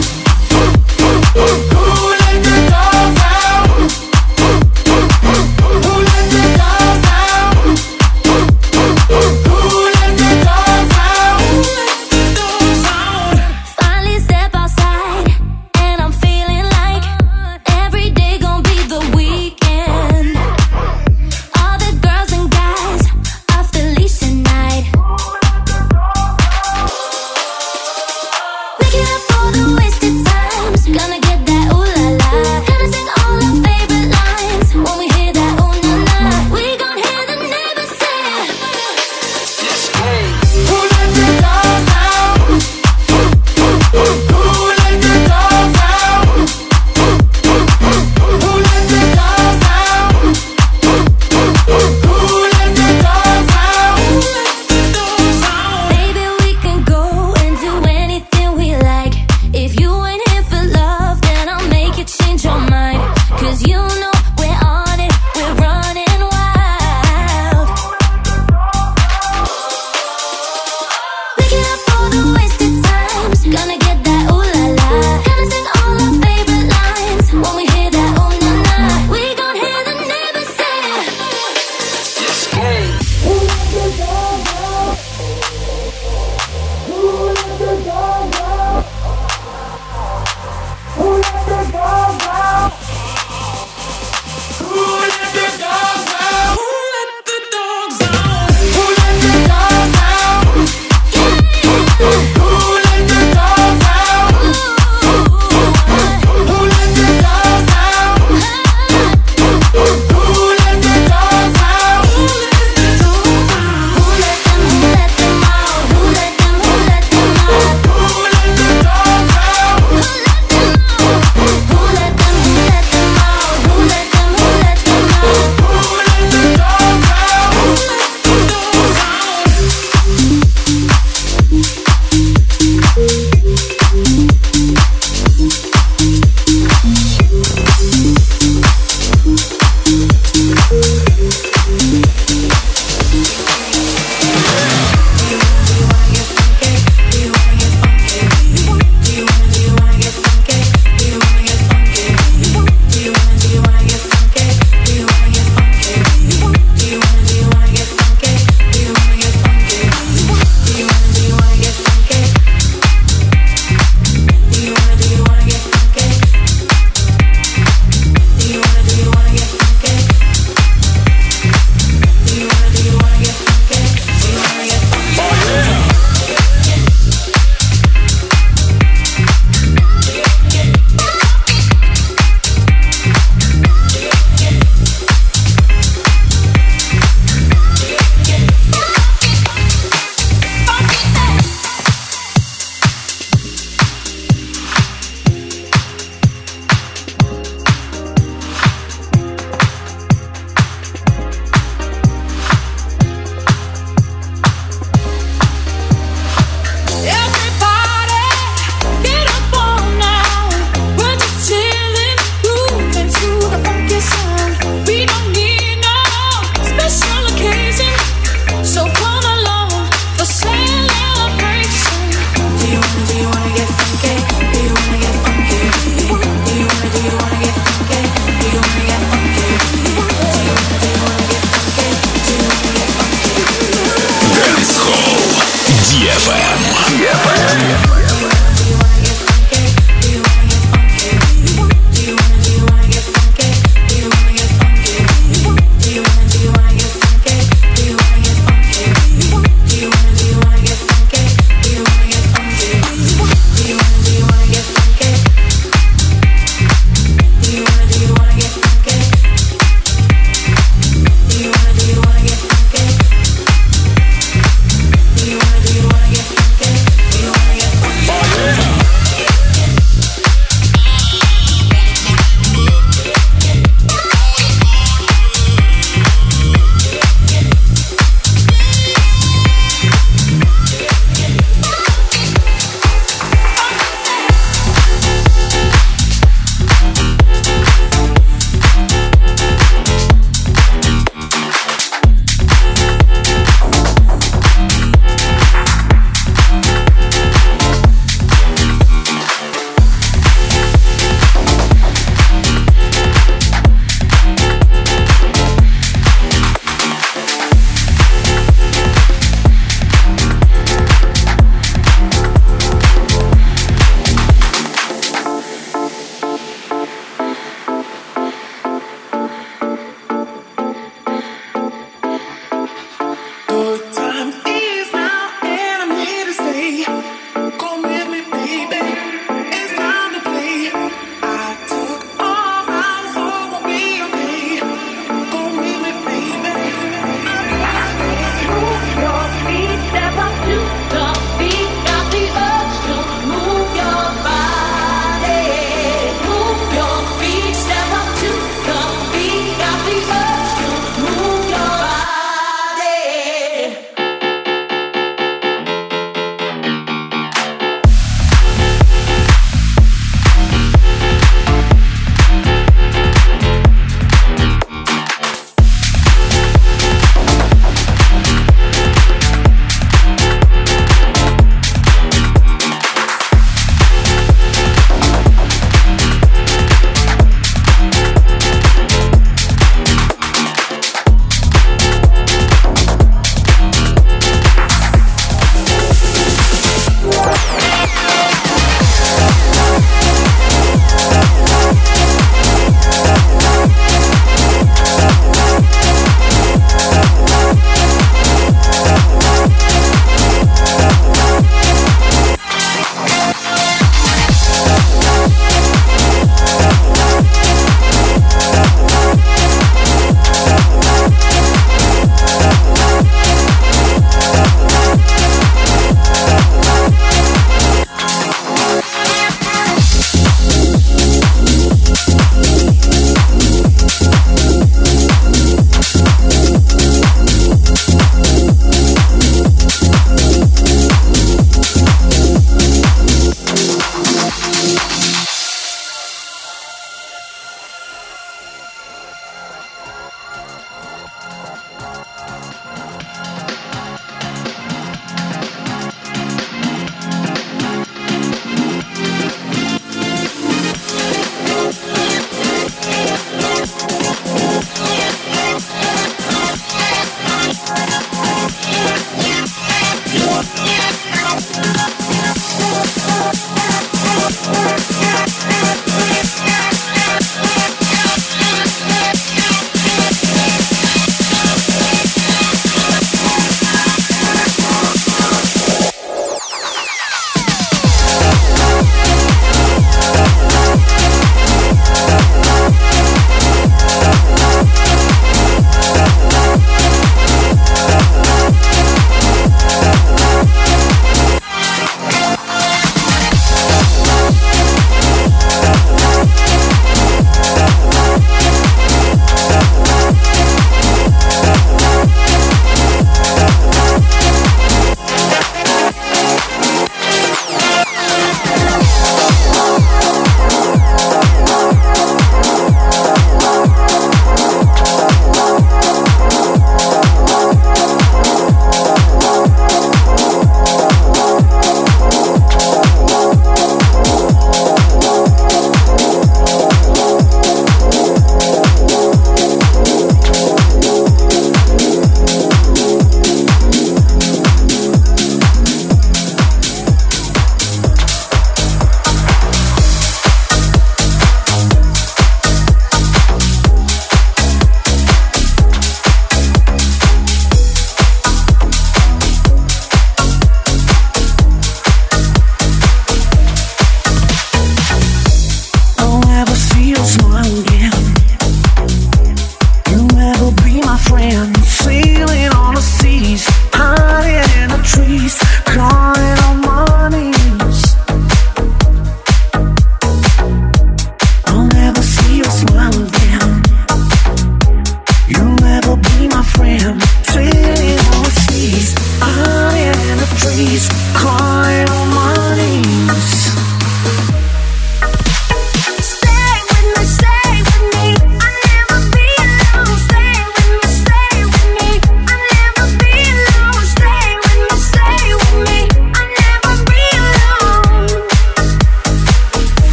Who let the dogs out? Who let the dogs out? Who let the dogs out?
Finally step outside, and I'm feeling like every day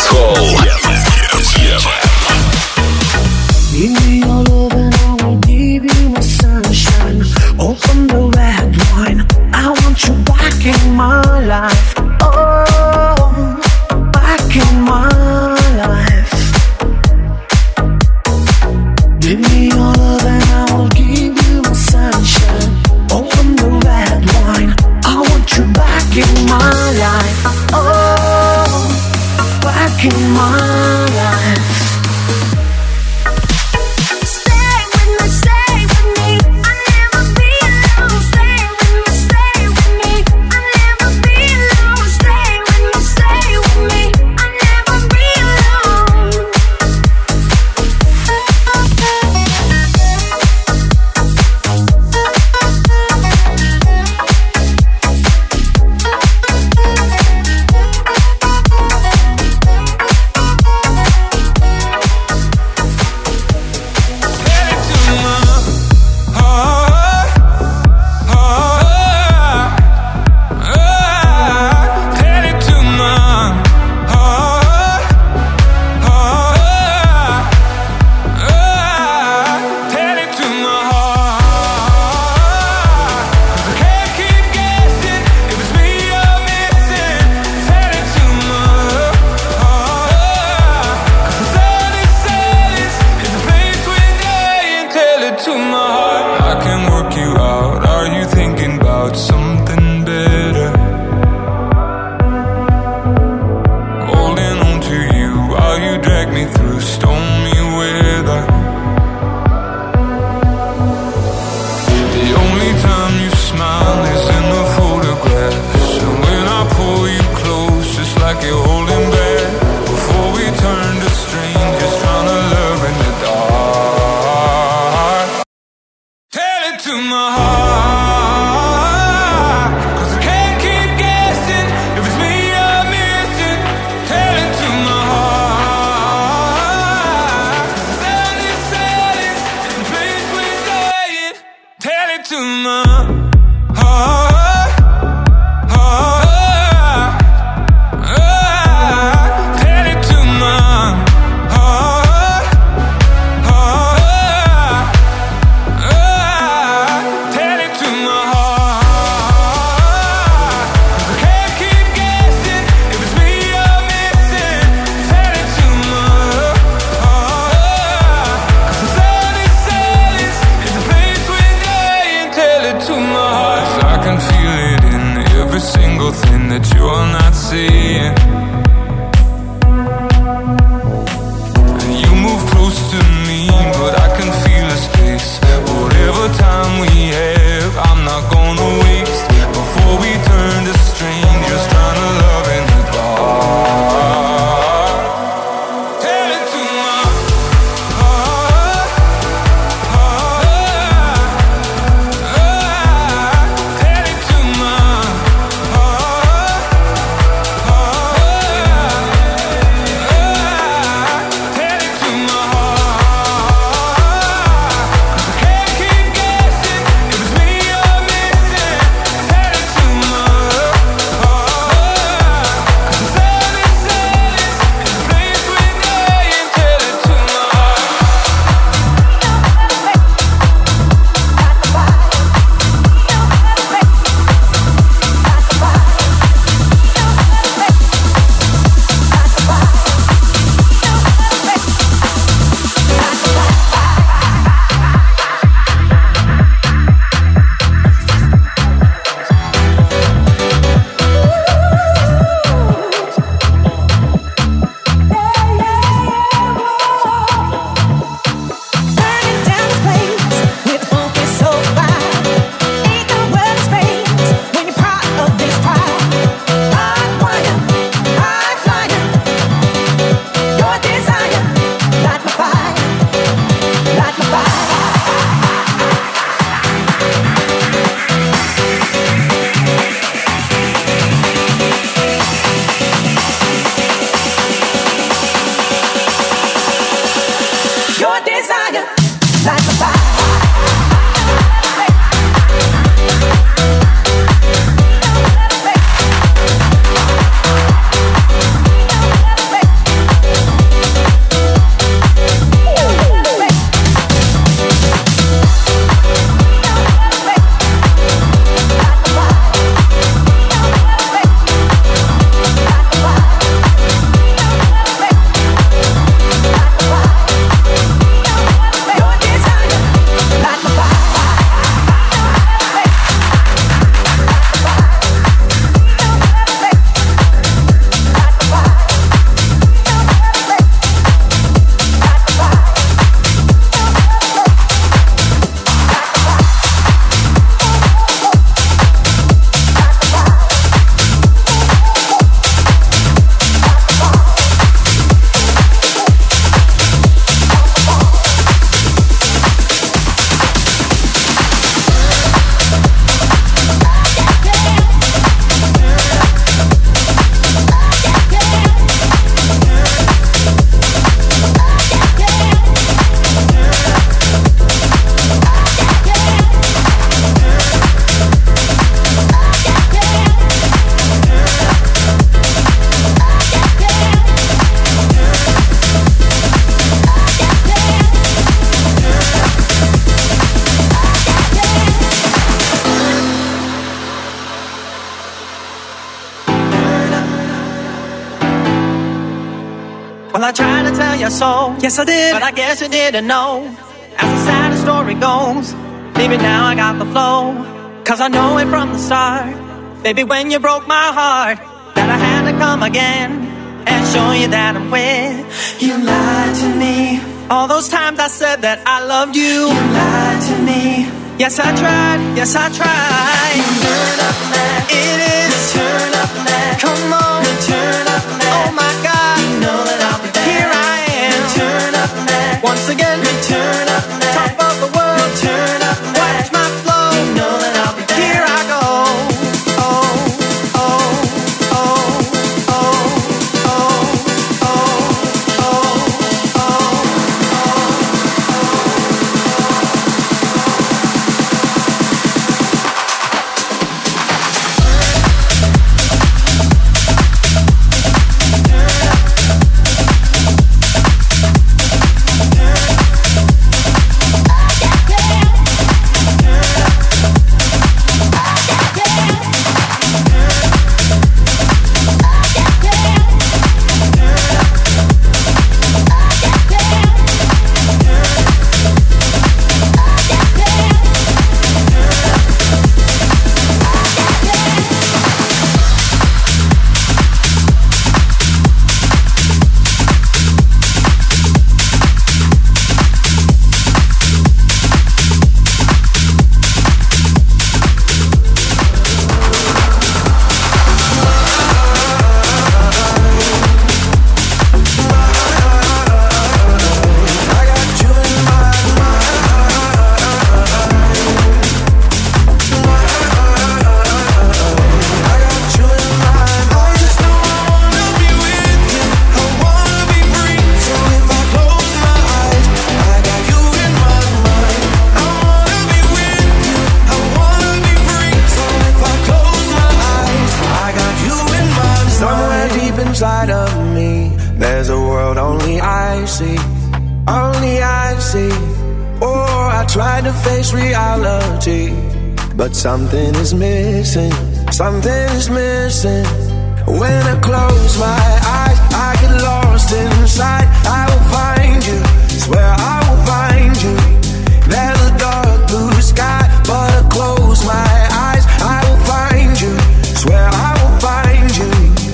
Hall.
Give me your love and I will give you my sunshine. Open the red wine, I want you back in my life. Oh, back in my life. Give me your love and I will give you my sunshine. Open the red wine, I want you back in my life. Oh, back in my life.
Well, I tried to tell you so. Yes, I did. But I guess you didn't know. As the sad story goes, maybe now I got the flow. Cause I know it from the start. Baby, when you broke my heart, that I had to come again and show you that I'm with. You lied to me. All those times I said that I loved you. You lied to me. Yes, I tried. Yes, I tried. Turn up now. It is. Turn up now. Come on. Turn up now. Oh my God. You know that I'll be there. Here I am. Turn up now. Once again. Turn up now. Top of the world. Turn up now. Watch my flow. You know that I'll be there. Here I go.
Inside of me, there's a world only I see, only I see. Oh, I tried to face reality, but something is missing, something is missing. When I close my eyes, I get lost inside. I will find you, swear I will find you. There's a dark blue sky, but I close my eyes, I will find you, swear I will find you.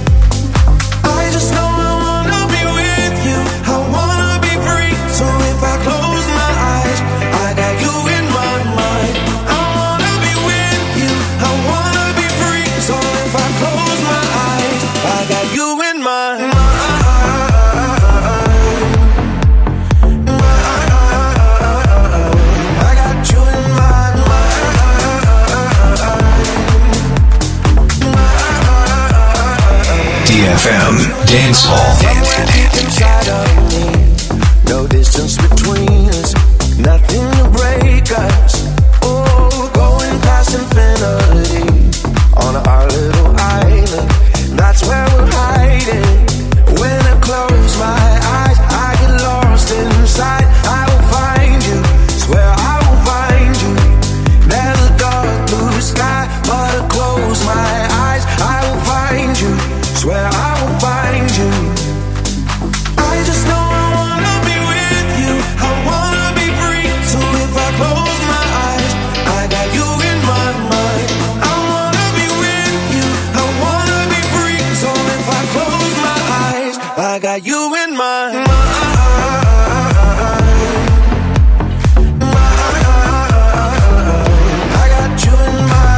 I just know I wanna be with you, I wanna be free. So if I close my eyes, I got you in my mind. I wanna be with you, I wanna be free. So if I close my eyes, I got you in my mind. I got you in my mind.
DFM Dance Hall.
Inside of me, no distance between us, nothing to break us. Oh, going past infinity on our little island. That's where we're hiding. When I close my eyes, I get lost inside. I will find you, swear I will find you. There's a dark blue sky, but I close my eyes, I will find you, swear I will find you. I just know I wanna be with you, I wanna be free. So if I close my eyes, I got you in my mind. I wanna be with you, I wanna be free. So if I close my eyes, I got you in my mind. I got you in my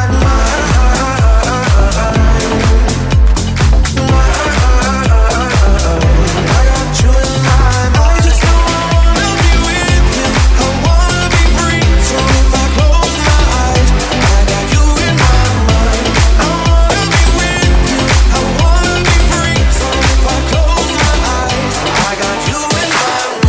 mind.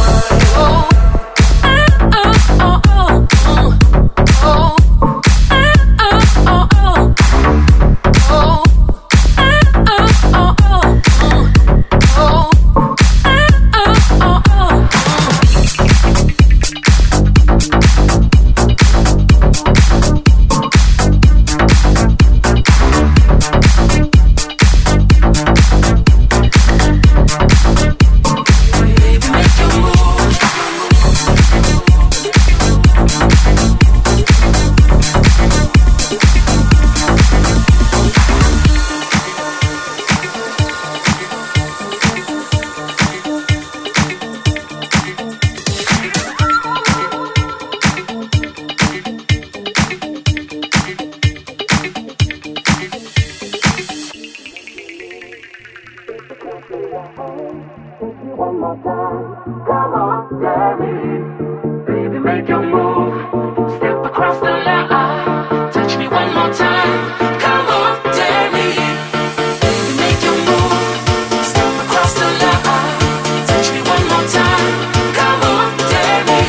one more time. Come on, dare me. Baby, make your move. Step across the line. Touch me one more time. Come on, dare me. Baby, make your move. Step across the line. Touch me one more time. Come on, dare me.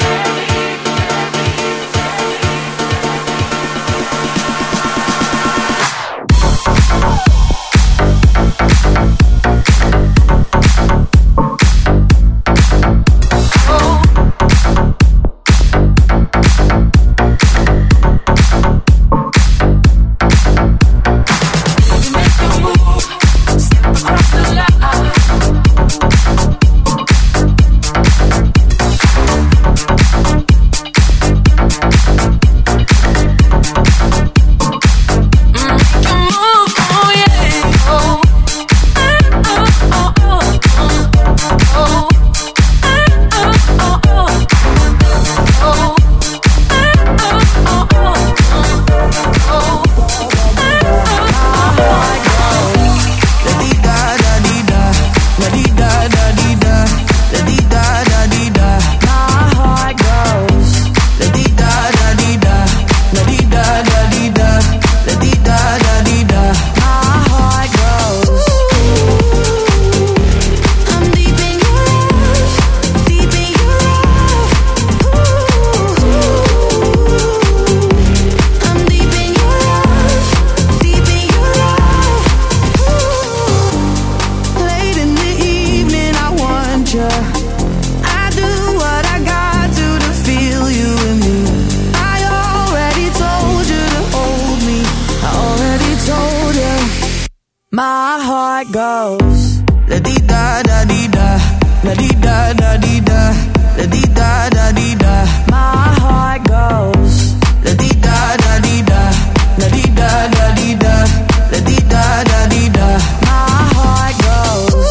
My heart goes la di da da di da, la di da da di da, la di da da di da. My heart goes la di da da di da, la di da da di da, la di da da di da. My heart goes.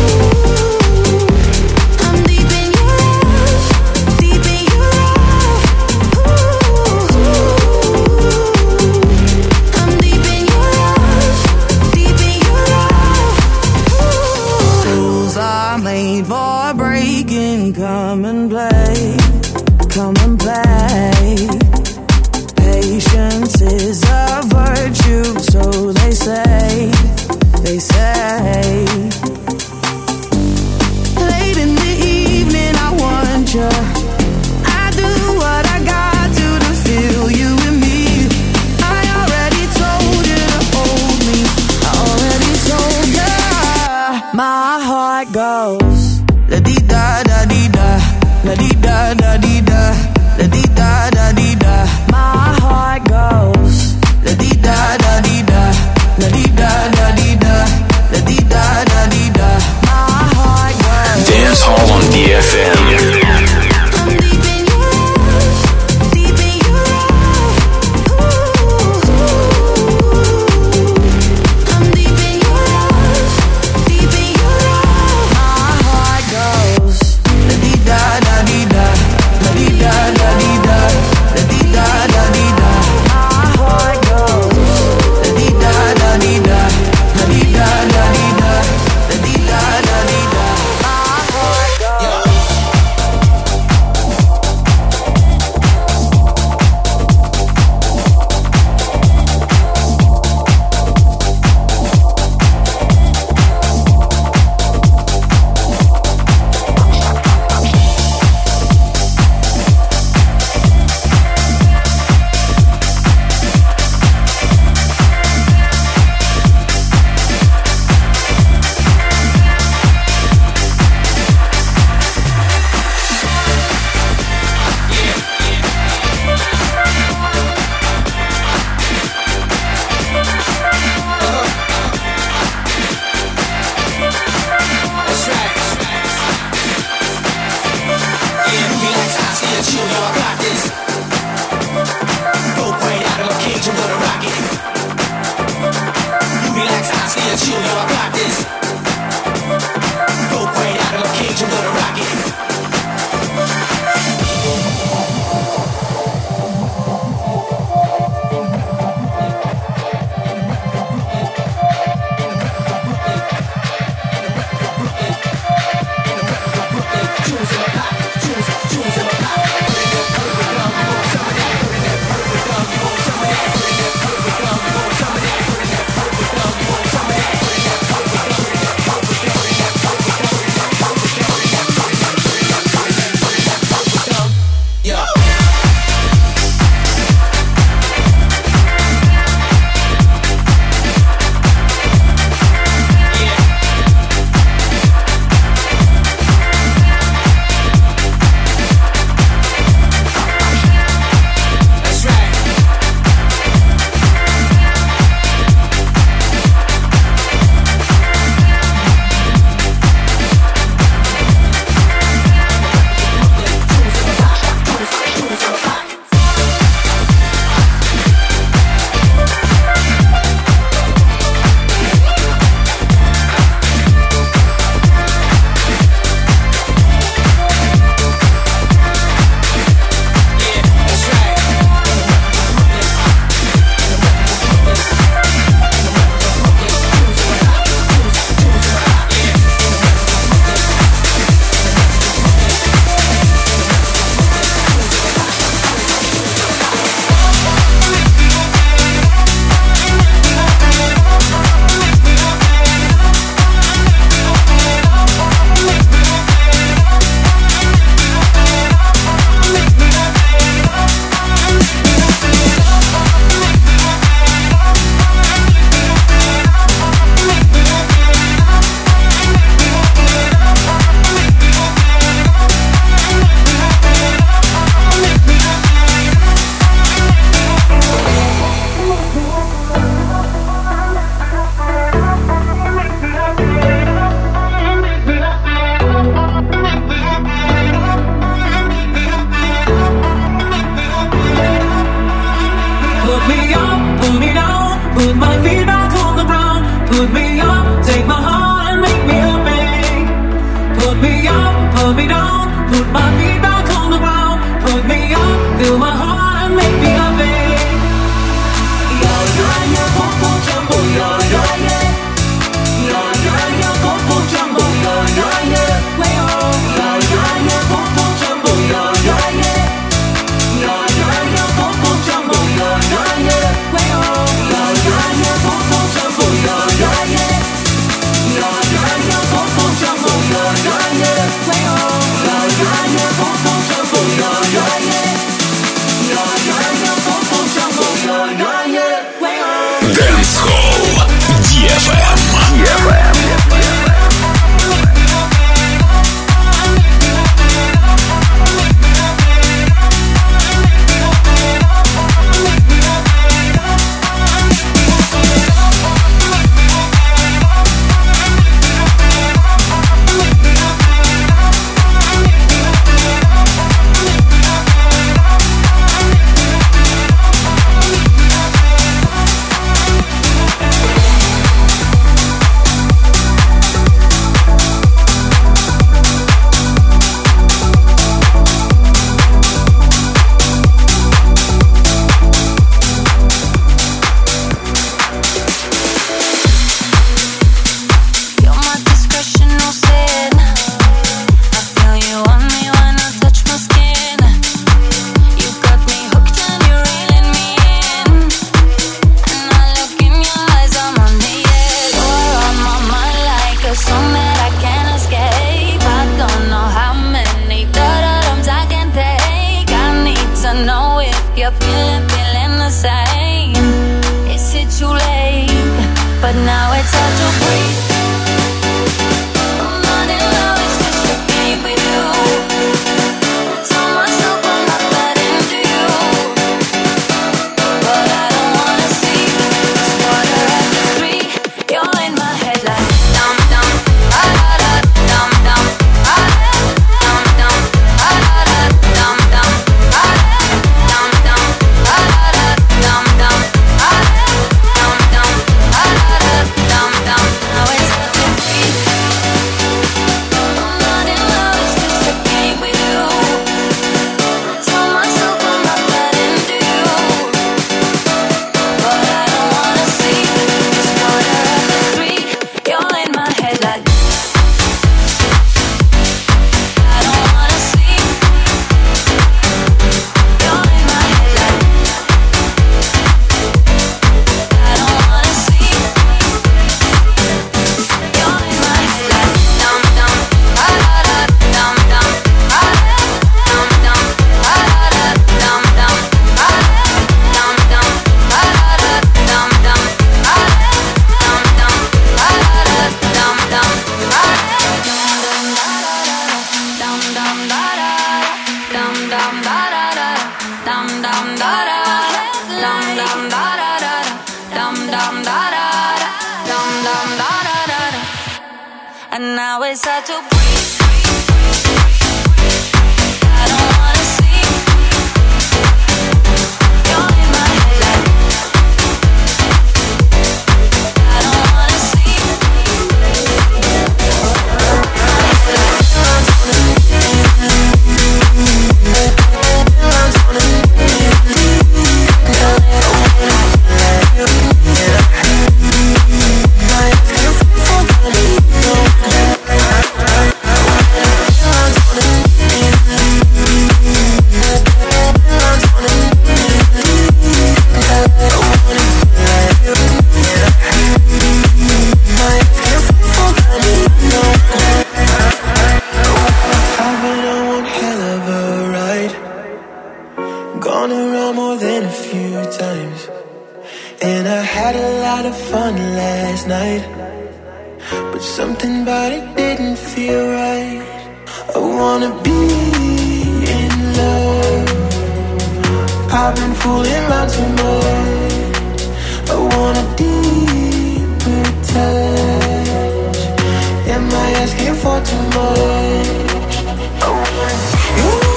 I'm deep in your love, deep in your love. I'm deep in your love, deep in your love. Rules are made for breaking. Come and play, come and play. Patience is a virtue, so they say, they say. Late in the evening, I want you. I do what I got to feel you and me. I already told you to hold me. I already told you. My heart goes la di da da di da, la di da da di da, la di da da di da. My heart goes la di da da di da, la di da da di da, la di da da di da. My heart goes.
Dance Hall on DFM.
Put me up, put me down, put my feet back on the ground. Put me up, fill my heart and make me happy. Yo, yo, yo, popo jumbo, yo, yo, yeah. Yo, yo, yo, popo jumbo, yo, yo, yeah. Way on. Yo, yo, yo, popo jumbo, yo, yo, yeah. Yo, yo, yo, popo jumbo, yo, yo, yeah. Way on. Yo, yo, yo, popo jumbo, yo, yo, yeah. Yo, yo, yo, popo jumbo, yo, yo, yeah. Way on. Yo, yo, yo, popo jumbo, yo, yo, yeah. Yo, yo, yo, popo jumbo, yo, yo, yeah. Way on.
Dancehall DFM.
And now it's hard to breathe. I don't wanna sleep. You're in my head like I don't wanna sleep.
Something about it didn't feel right. I wanna be in love. I've been fooling around too much. I want a deeper touch. Am I asking for too much? I want you.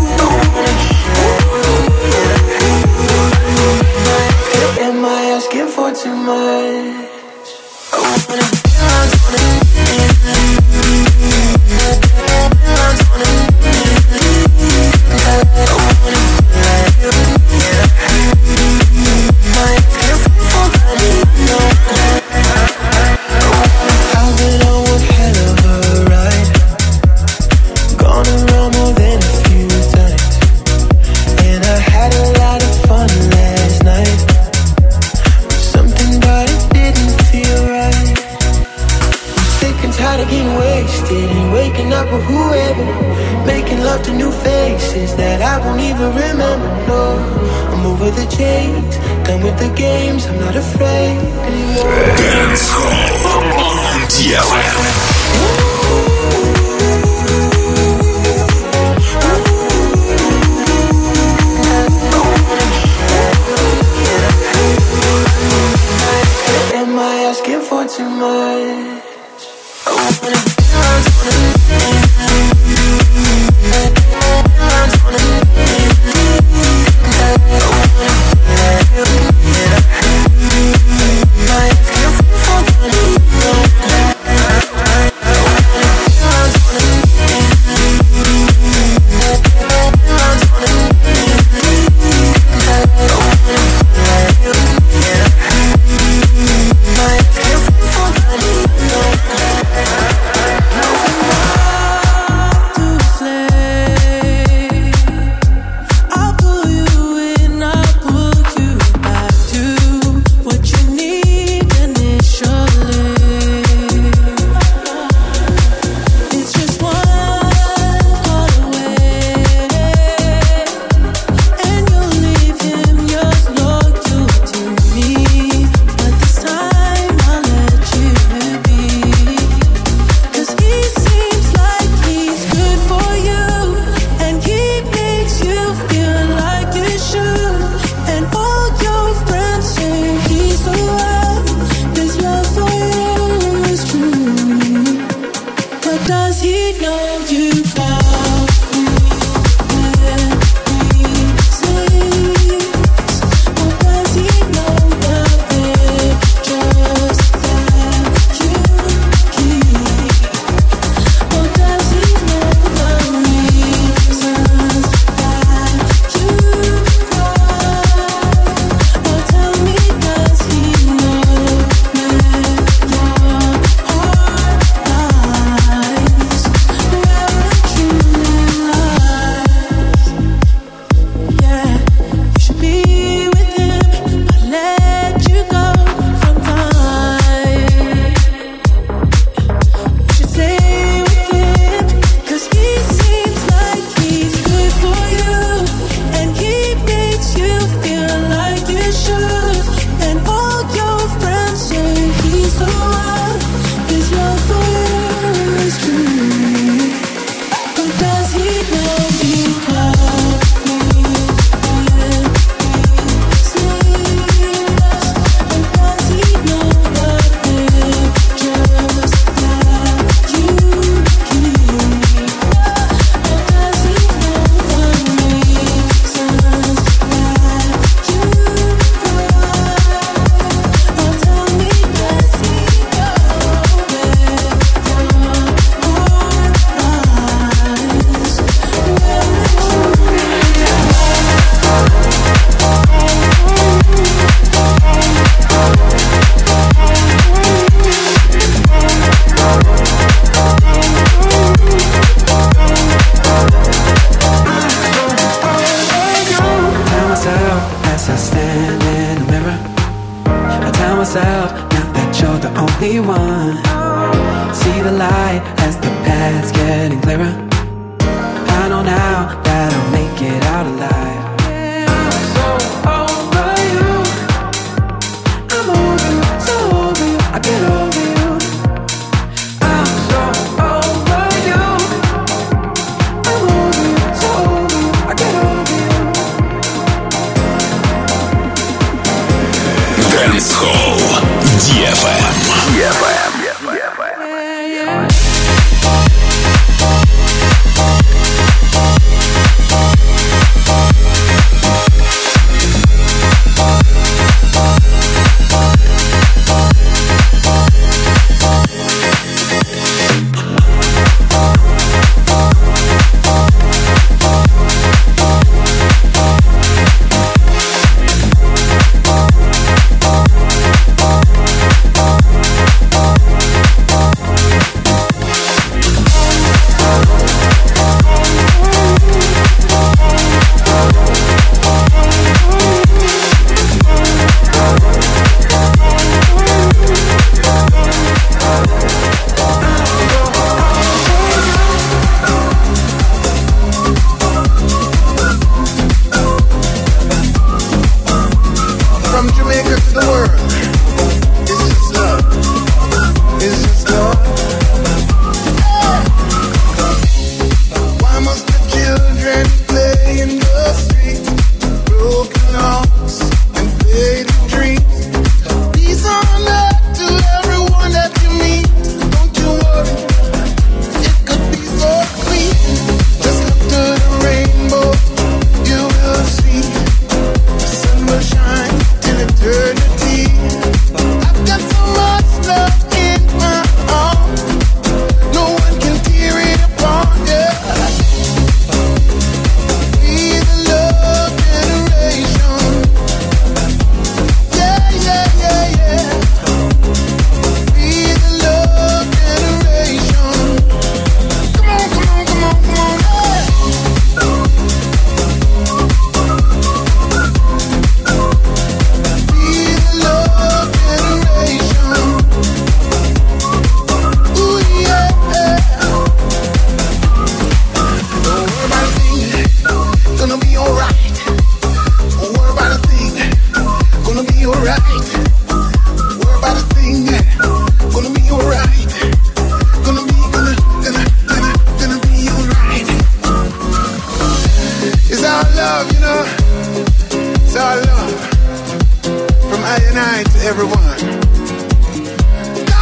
Am I asking for for too much. I wanna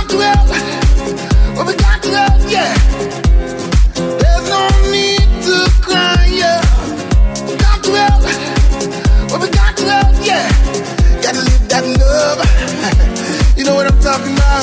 got to love what we got to love, yeah. There's no need to cry, yeah. Got to love what we got to love, yeah. Gotta live that love. You know what I'm talking about?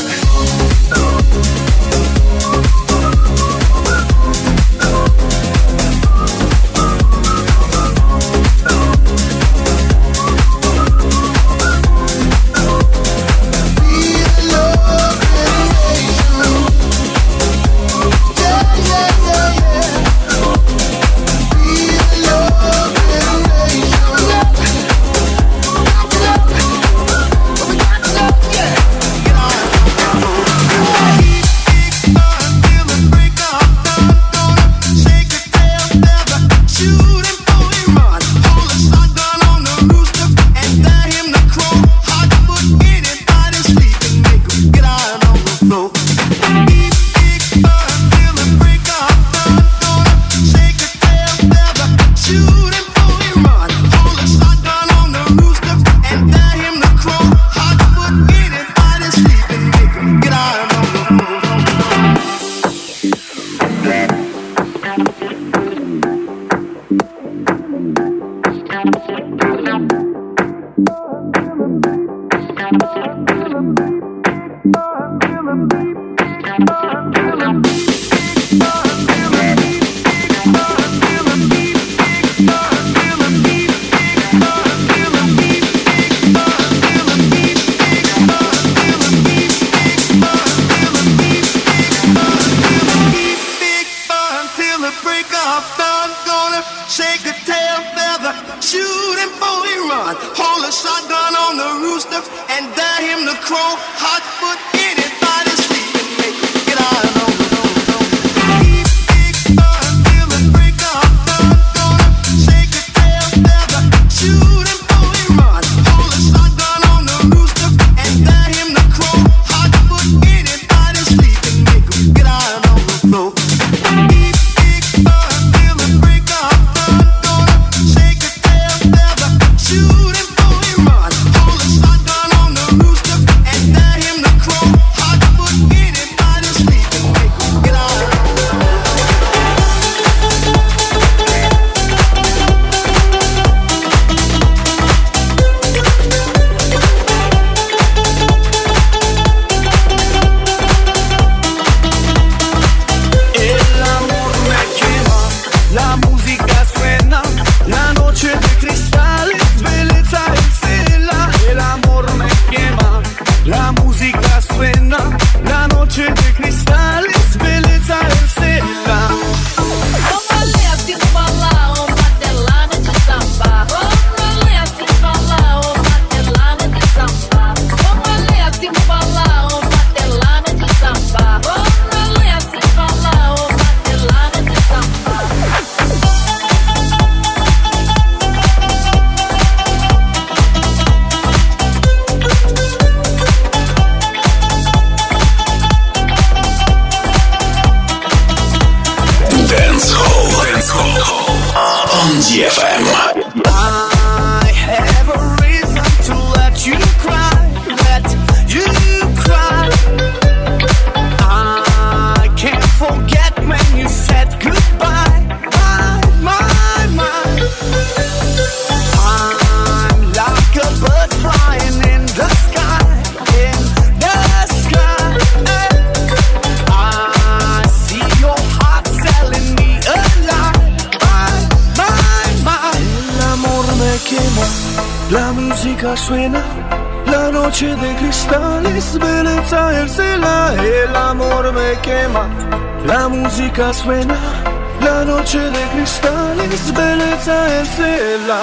Suena la noche de cristales, belleza el cielo, el amor me quema. La música suena, la noche de cristales, belleza el cielo.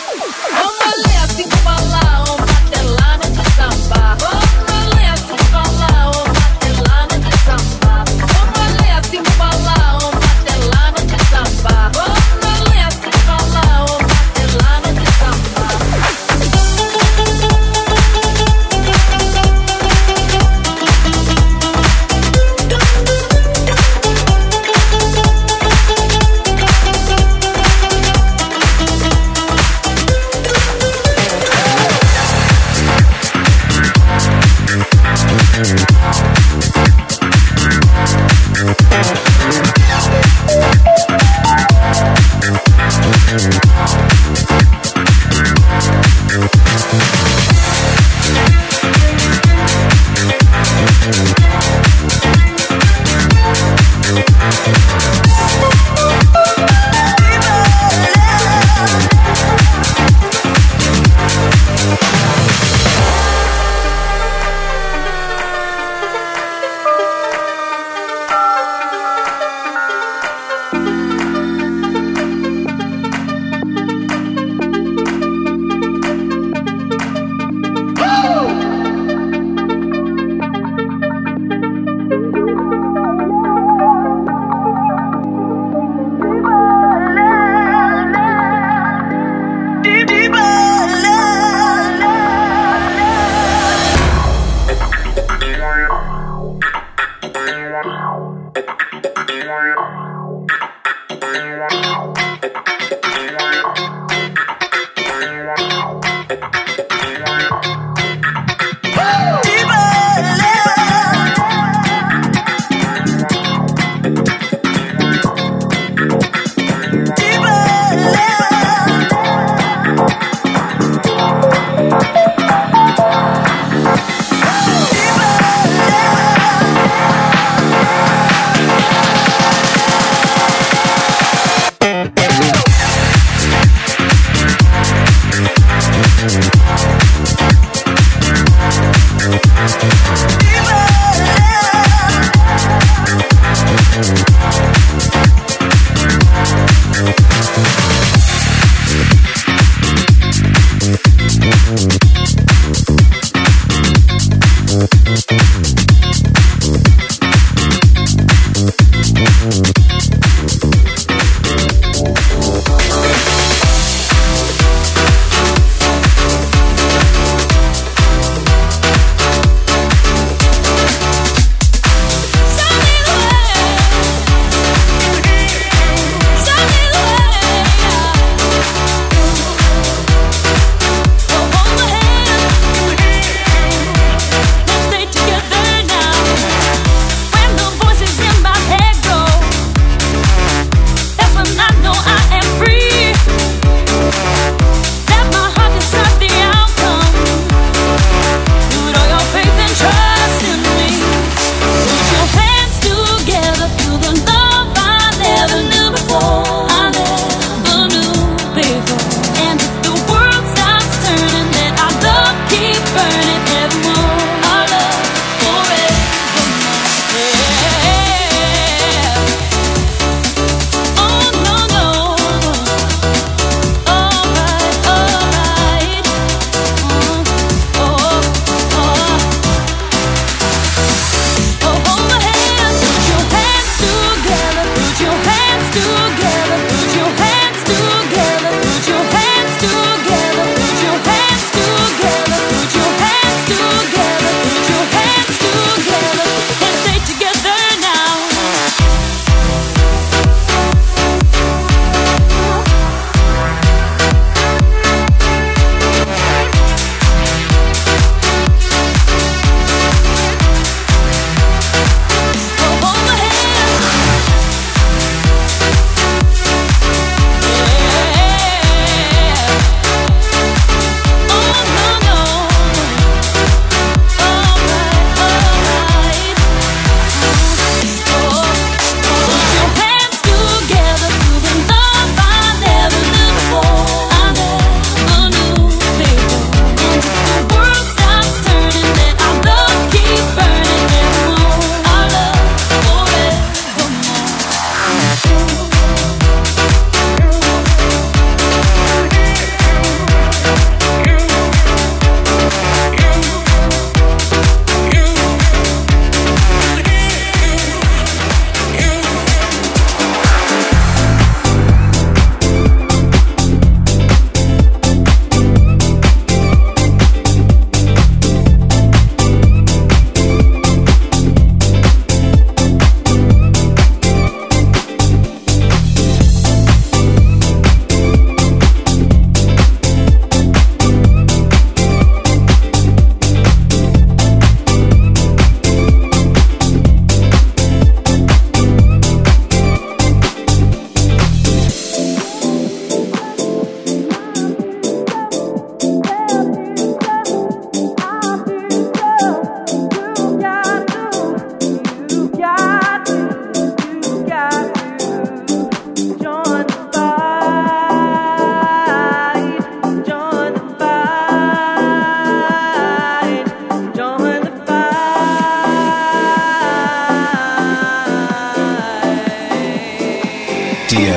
Rolê assim falar, o martelada de samba. Rolê assim falar, o martelada de samba. Rolê assim falar, o martelada de samba. Rolê assim falar, o martelada de samba.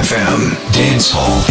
DFM Dance Hall.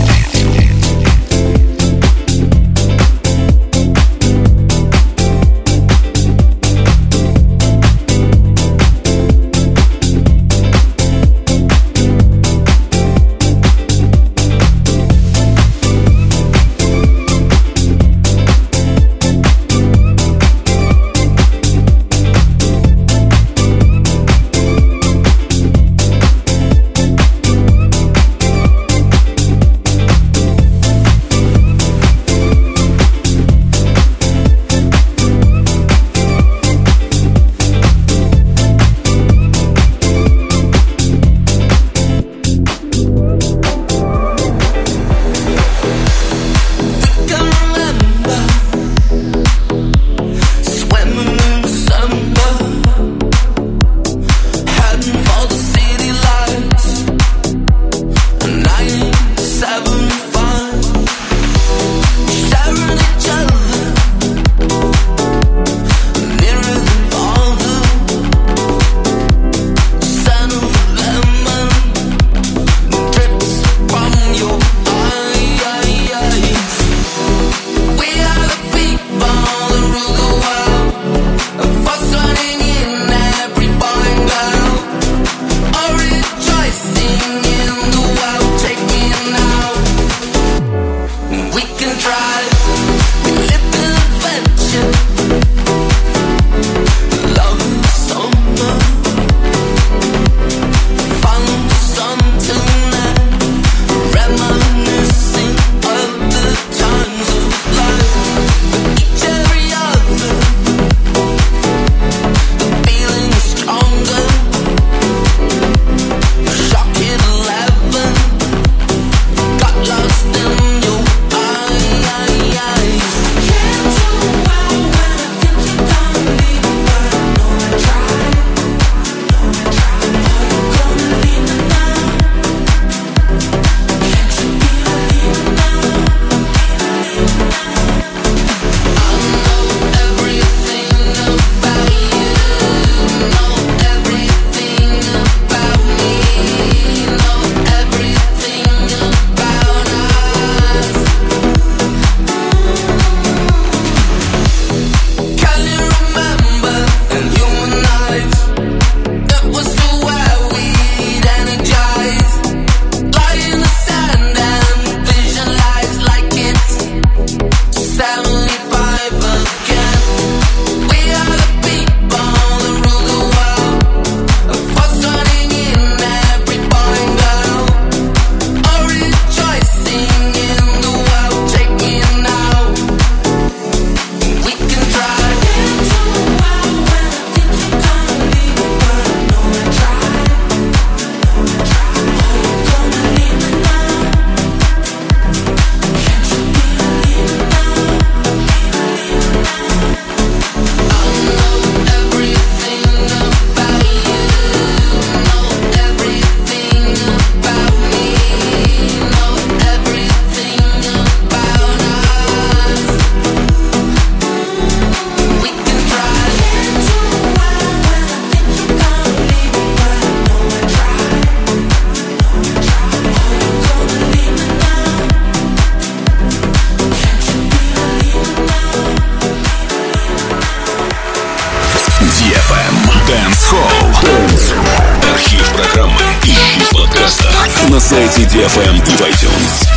Архив программы ищи в подкастах на сайте DFM и в iTunes.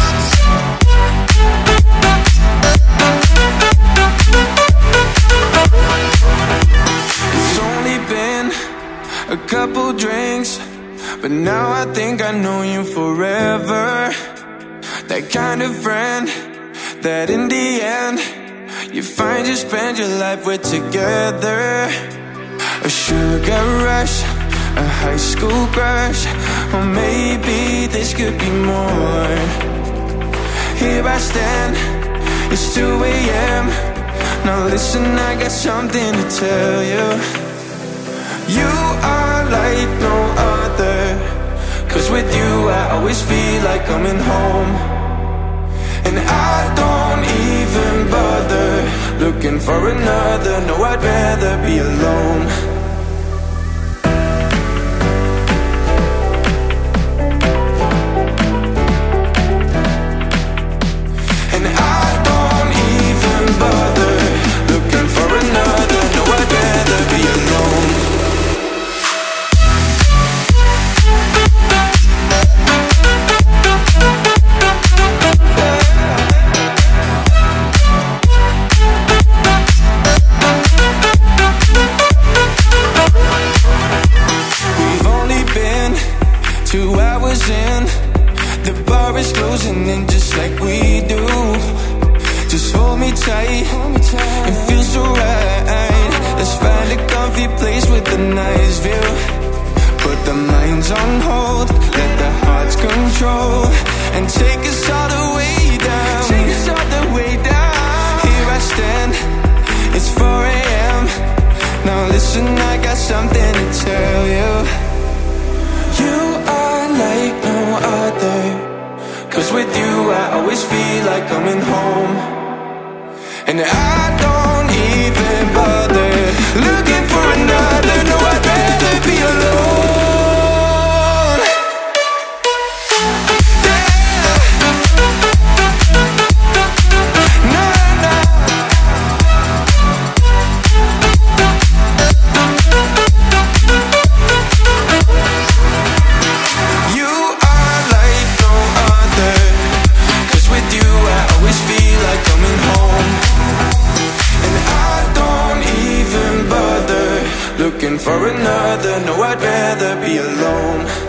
It's only been a couple drinks, but now I think I know you forever. That kind of friend that in the end you find you spend your life with together. A sugar rush, a high school crush, or maybe this could be more. Here I stand, it's 2 a.m. Now listen, I got something to tell you. You are like no other, 'cause with you I always feel like coming home. And I don't even bother looking for another. No, I'd rather be alone.
comfy place with a nice view. Put the minds on hold, let the hearts control, and take us all the way down. Take us all the way down. Here I stand, it's 4 a.m. Now listen, I got something to tell you. You are like no other, 'cause with you I always feel like coming home. And I don't even bother looking for another. No, I'd rather be alone. Looking for another, no, I'd rather be alone.